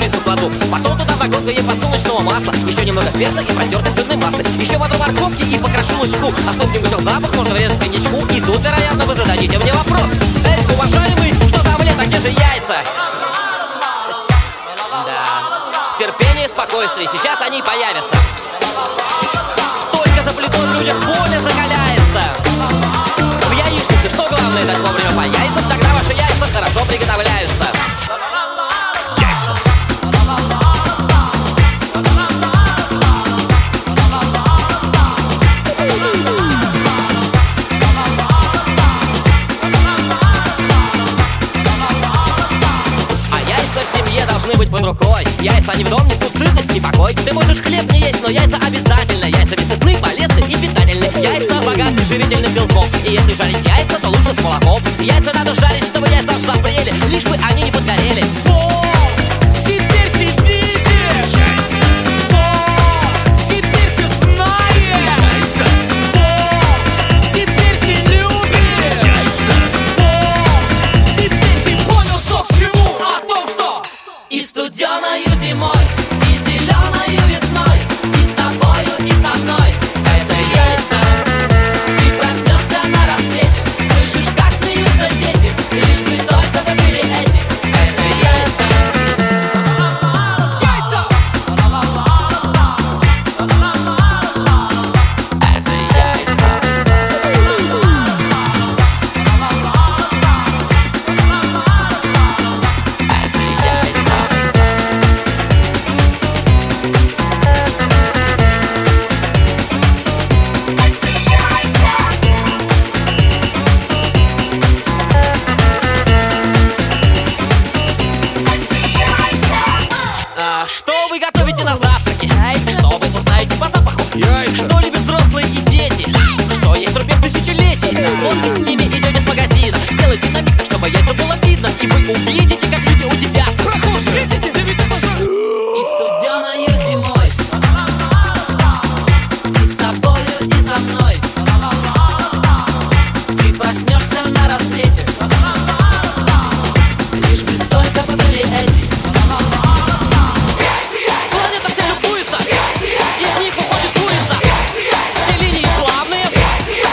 яйца кладу. Потом туда вдогонку ей подсолнечного масла, еще немного перца и протертой сырной массы, еще воду морковки и покрошу лучку. А чтоб не гусел запах, можно врезать коньячку. И тут, вероятно, вы зададите мне вопрос: эй, уважаемый, что за омлет, а где же яйца? Да, терпение и спокойствие, сейчас они появятся. Только за плитой в людях воля закаляется. В яичнице что главное дать вовремя по яйцам, тогда ваши яйца хорошо приготовляются. Яйца. В семье должны быть под рукой. Яйца не в дом несут сытость и покой. Ты можешь хлеб не есть, но яйца обязательно. Яйца сытны, полезны и питательны. Яйца богаты живительных белков. И если жарить яйца, то лучше с молоком. Яйца надо жарить, чтобы яйца запрели, лишь бы они не подгорели. Вот, теперь ты видишь. Яйца. Вот, теперь ты знаешь. Яйца. Вот, теперь ты любишь. Яйца. Вот, теперь ты понял, что к чему. О том, что И студеною зимой, и зеленою весной, и с тобою, и со мной. Это яйца. Ты проснешься на рассвете, слышишь, как смеются дети, лишь бы только вы были эти. Это яйца. яйца. Это яйца. Это яйца. А, что вы готовите на завтраке? Что вы узнаете по запаху? Что любят взрослые и дети? Что есть рубеж тысячелетий? Вот вы с ними идете с магазина. Сделайте на миг так, чтобы яйца было видно, и вы увидите, как люди удивятся. Прохожие, видите, да ведь это же... И студеною зимой, и с тобою, и со мной. Ты проснешься на рассвете, лишь бы только вы были эти. Планета вся любуется, из них выходит курица. Все линии плавные,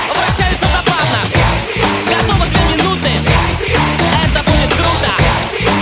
вращаются забавно. Готово две минуты, это будет круто.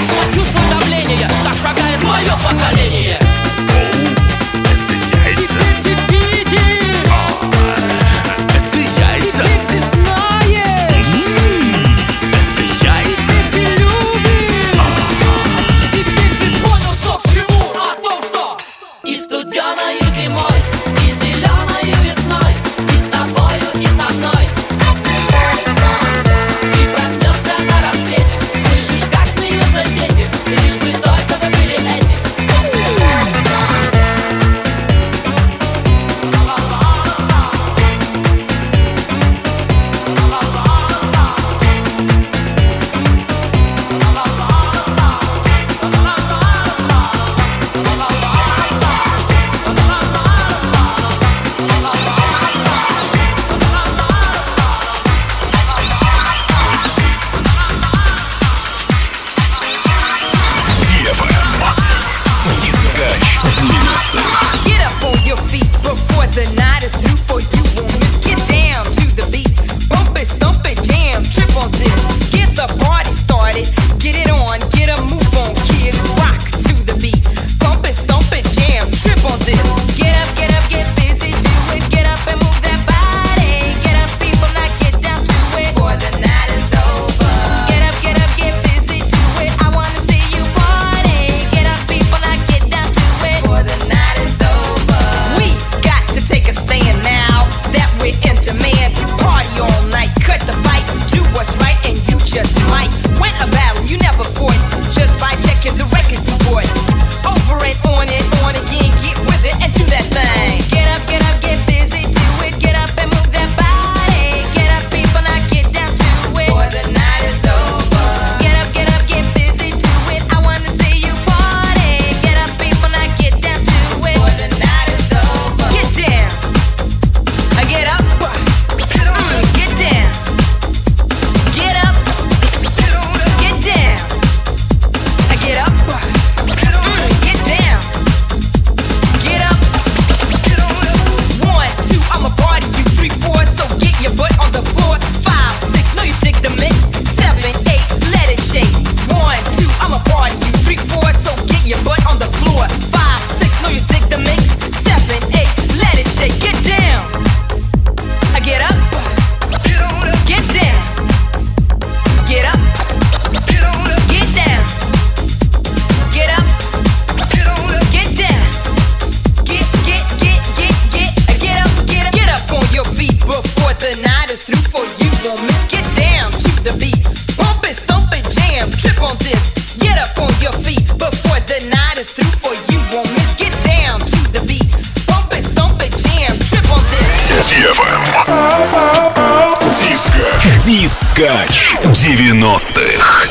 on this. Get up on your feet before the night is through. For you won't miss. Get down to the beat. Bump it, stomp it, jam. Trip on this. ди эф эм. Дискач. Дискач девяностых.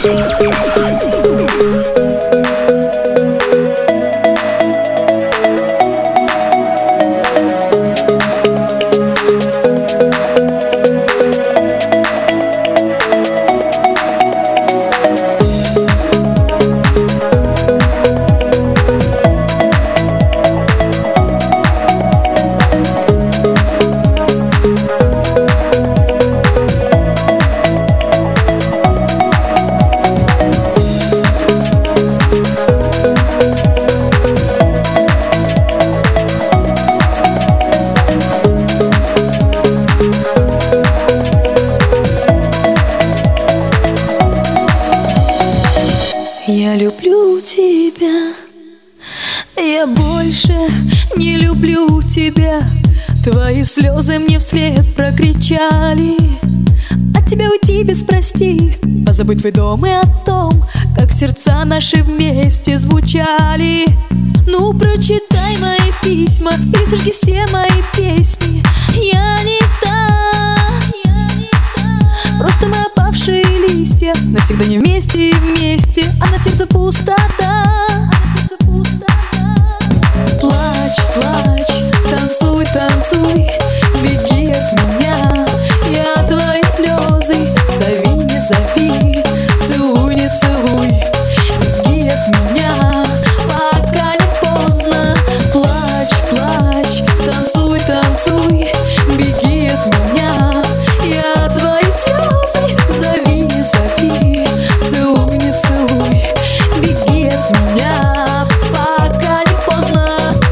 Я люблю тебя, я больше не люблю тебя. Твои слезы мне вслед прокричали. От тебя уйти без прости, позабыть твой дом и о том, как сердца наши вместе звучали. Ну прочитай мои письма или сожги все мои песни. Я не та, просто мы опавшие листья, навсегда не вместе и вместе, а на сердце пустота. Плачь, плачь, танцуй, танцуй, беги от меня. Я твои слезы, зови, не зови, целуй, не целуй, беги от меня, пока не поздно. Плачь, плачь, танцуй, танцуй, беги от меня. Я твои слезы, зови, не зови, целуй, не целуй, беги от меня, пока не поздно.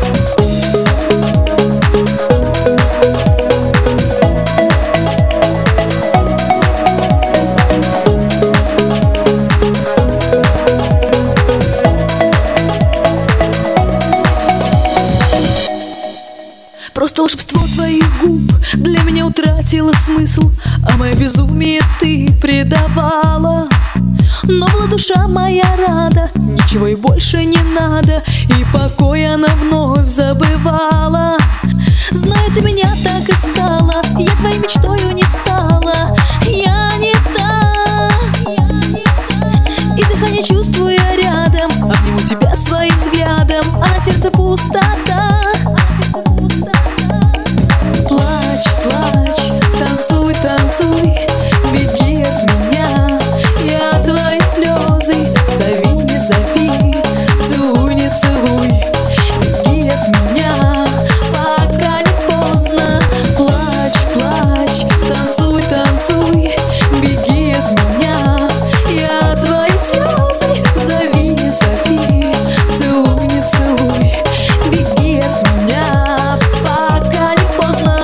Просто волшебство твоих губ для меня утратило смысл, а мое безумие ты предавала. Но была душа моя рада, ничего и больше не надо, и покой она вновь забывала. Знаю, ты меня так искала, я твоей мечтою не стала. Я не та, и дыхание чувствую я рядом, обниму тебя своим взглядом, а на сердце пустота. Плачь, плачь, танцуй, танцуй, беги от меня. Я твои слезы, зови, не зови, целуй, не целуй, беги от меня, пока не поздно. Плачь, плачь, танцуй, танцуй, беги от меня. Я твои слезы, зови, не зови, целуй, не целуй, беги от меня, пока не поздно.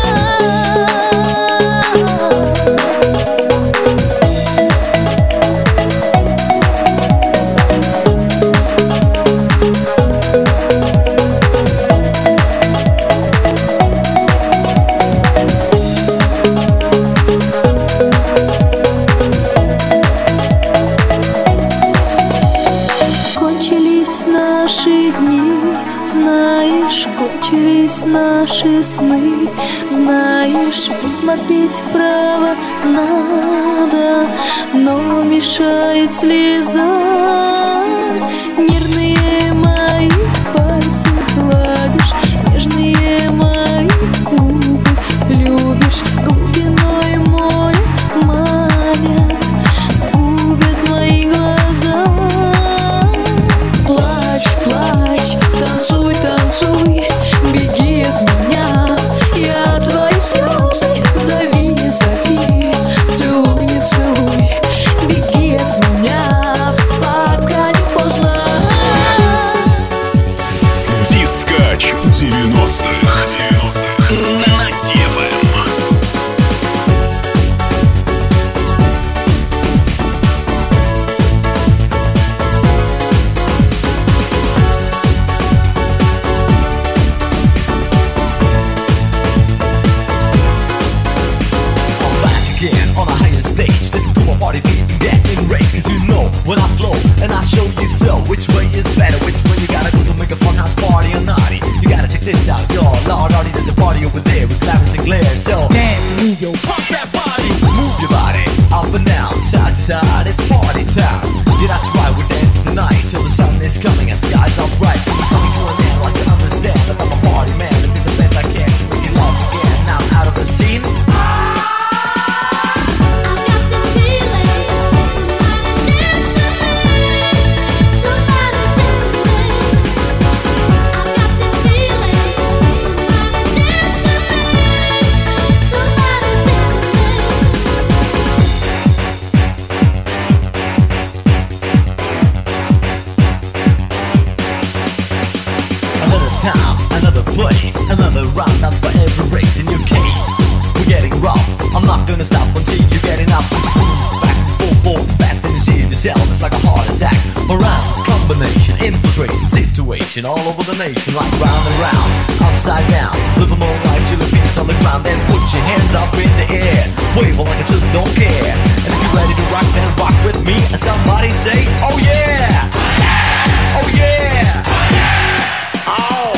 Кончились наши дни, знаешь, кончились наши сны. Знаешь, посмотреть вправо надо, но мешает слеза. Нервные мои пальцы гладишь, нежные мои губы любишь, глубиной мой манят, губят мои глаза. Плачь, плачь, танцуй, танцуй, беги от меня. Я твои слезы, зови, не зови, целуй, не целуй, беги от меня, пока не place. Another round up for every race in your case. We're getting rough, I'm not gonna stop until you get enough. Back, forth, forth, back, then you see it yourself, it's like a heart attack. Around, combination, infiltration, situation all over the nation, like round and round, upside down. Live a more life till your feet's on the ground, then put your hands up in the air, wave like I just don't care. And if you're ready to rock, then rock with me, and somebody say, oh yeah, oh yeah, oh.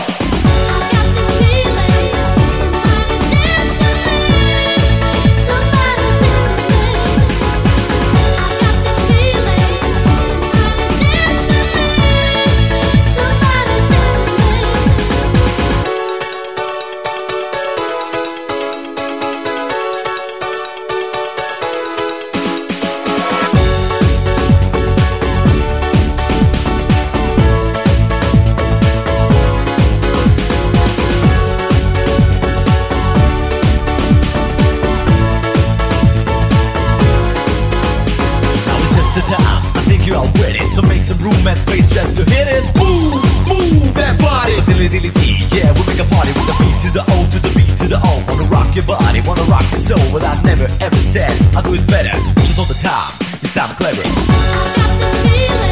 Room and space just to hit it. Move, move that body. Dilly dilly dee, yeah, we make a party with the beat to the O to the B to the O. Wanna rock your body, wanna rock your soul. Well, I never ever said I'll do it better. Just all the time, you sound clever. I got the feeling.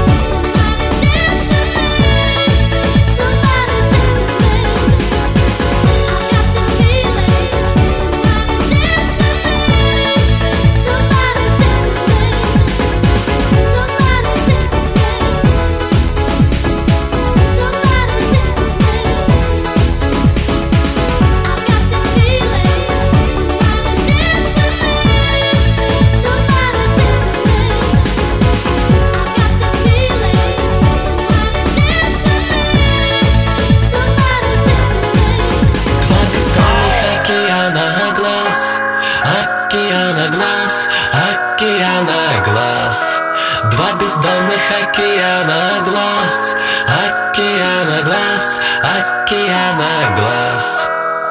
Два бездонных океана глаз, океана глаз, океана глаз.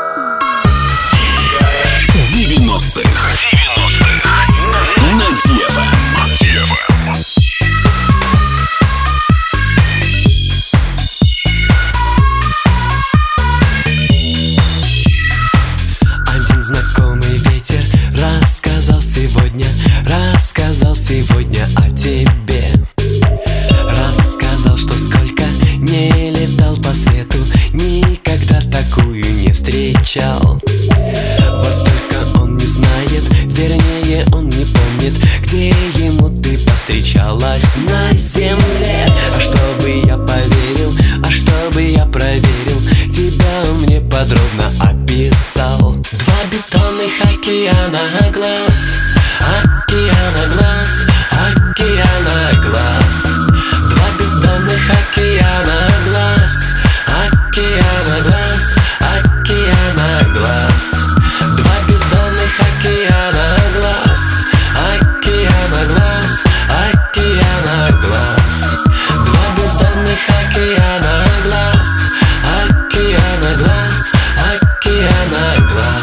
девяностых на Диэфа. Один знакомый ветер рассказал сегодня, рассказал сегодня о тебе. Рассказал, что сколько не летал по свету, никогда такую не встречал. Вот только он не знает, вернее он не помнит, где ему ты повстречалась на земле. А чтобы я поверил, а чтобы я проверил, тебя он мне подробно описал. Два бездонных океана глаз, океана глаз, океана глаз. Два бездонных океана глаз, океана глаз, океана глаз. Два бездонных океана глаз, океана глаз, океана глаз. Два бездонных океана глаз, океана глаз, океана глаз.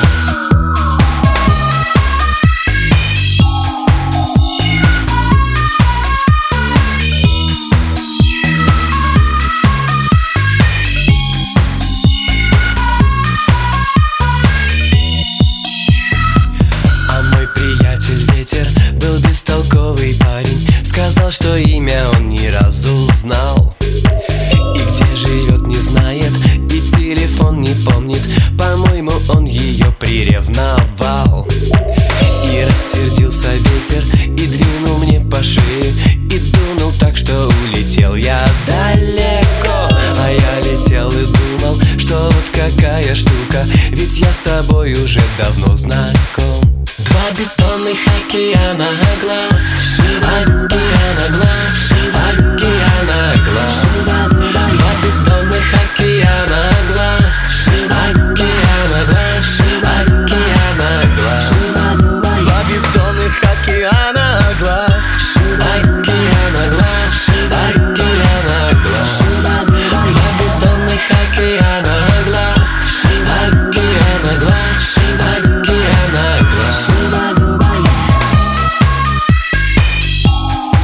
Сказал, что имя он ни разу знал, и где живет не знает, и телефон не помнит. По-моему, он ее приревновал. И рассердился ветер, и двинул мне по шее, и дунул так, что улетел я далеко. А я летел и думал, что вот какая штука, ведь я с тобой уже давно знаком. Два бездонных океана глаз, океана глаз, океана глаз. Два бездонных океана глаз, океана глаз, океана глаз. Два бездонных океана глаз, океана глаз, океана глаз. Два бездонных океана глаз, океана глаз, океана глаз.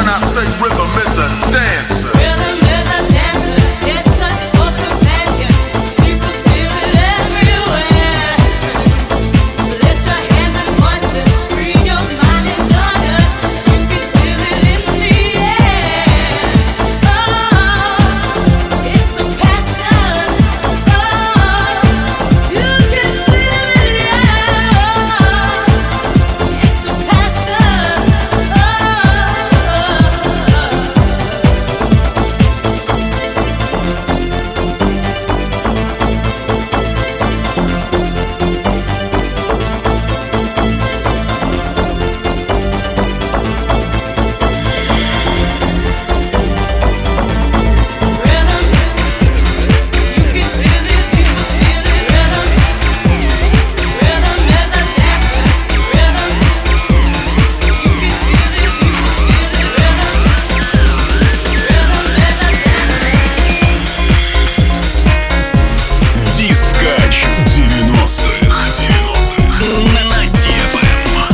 I say rhythm is a dancer. Rhythm is a dancer, it's a source companion. People feel it everywhere. Lift your hands and voices, free your mind and join us. You can feel it in the air. Oh, it's a passion. Oh, you can feel it, yeah. It's a passion. Oh. Дискач девяностых. На ди эф эм.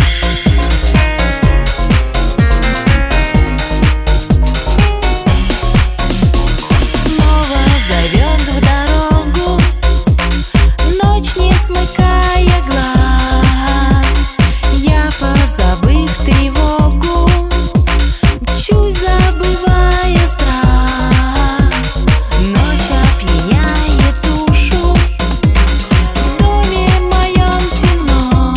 Снова зовет в дорогу, ночь не смыкая глаз. Я, позабыв тревогу, мчусь, забывая страх. Ночь опьяняет душу, в доме моем темно.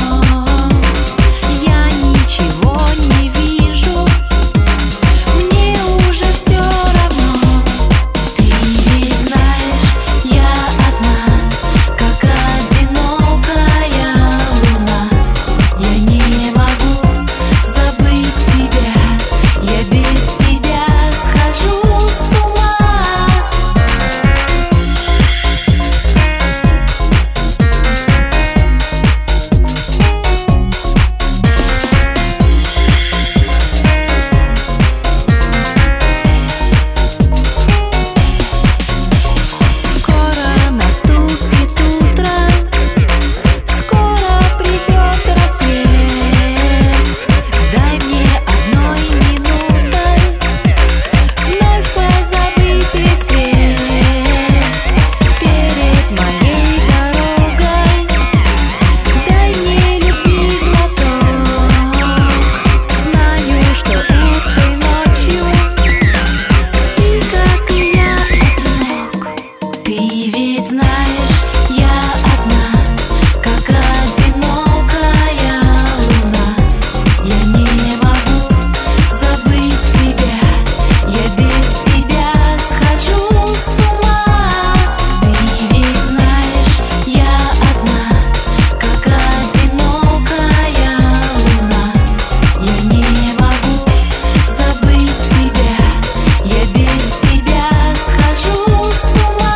Я ничего не вижу, мне уже все равно. Ты ведь знаешь, я одна, как одинокая луна. Я не могу забыть тебя, я без тебя схожу с ума. Скоро наступит утро, скоро придет рассвет. Дай мне одной минутой вновь позабыть весь свет. Перед моей дорогой дай мне любви глоток. Знаю, что этой ночью ты, как и я, одинок. Ты ведь знаешь, я одна, как одинокая луна. Я не могу забыть тебя, я без тебя схожу с ума. Ты ведь знаешь, я одна, как одинокая луна. Я не могу забыть тебя, я без тебя схожу с ума.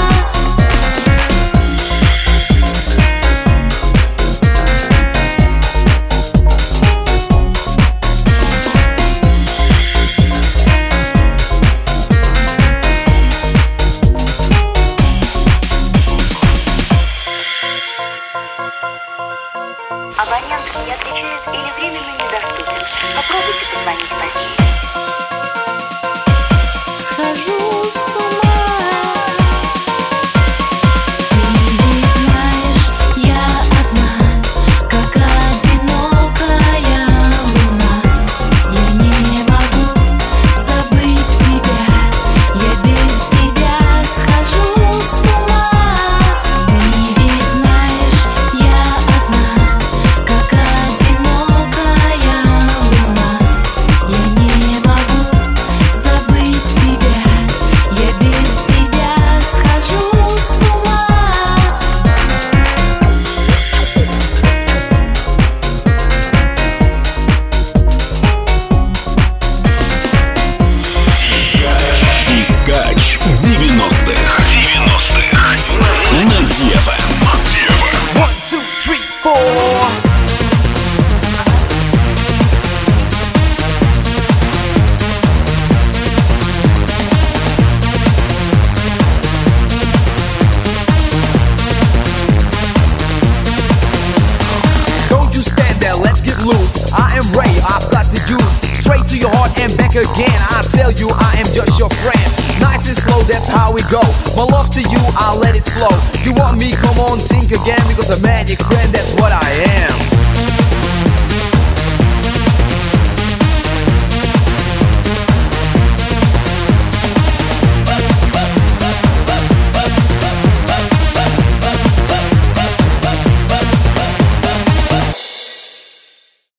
Абонент не отвечает или временно недоступен. Попробуйте позвонить позднее. Схожу с ума. Ты ведь знаешь, я одна, как одинокая луна. Я не могу забыть тебя, я без тебя схожу с ума. Ты ведь знаешь, я одна, как одинокая луна. Я не могу забыть тебя, я без тебя схожу с ума. Дискач девяностых. На ди эф эм. One, two, three, four. Don't you stand there, let's get loose. I am Ray, I've got the juice. straight to your heart and back again. I tell you I am just your friend. Nice and slow, that's how we go. My love to you, I'll let it flow. You want me, come on, think again, because a magic friend, that's what I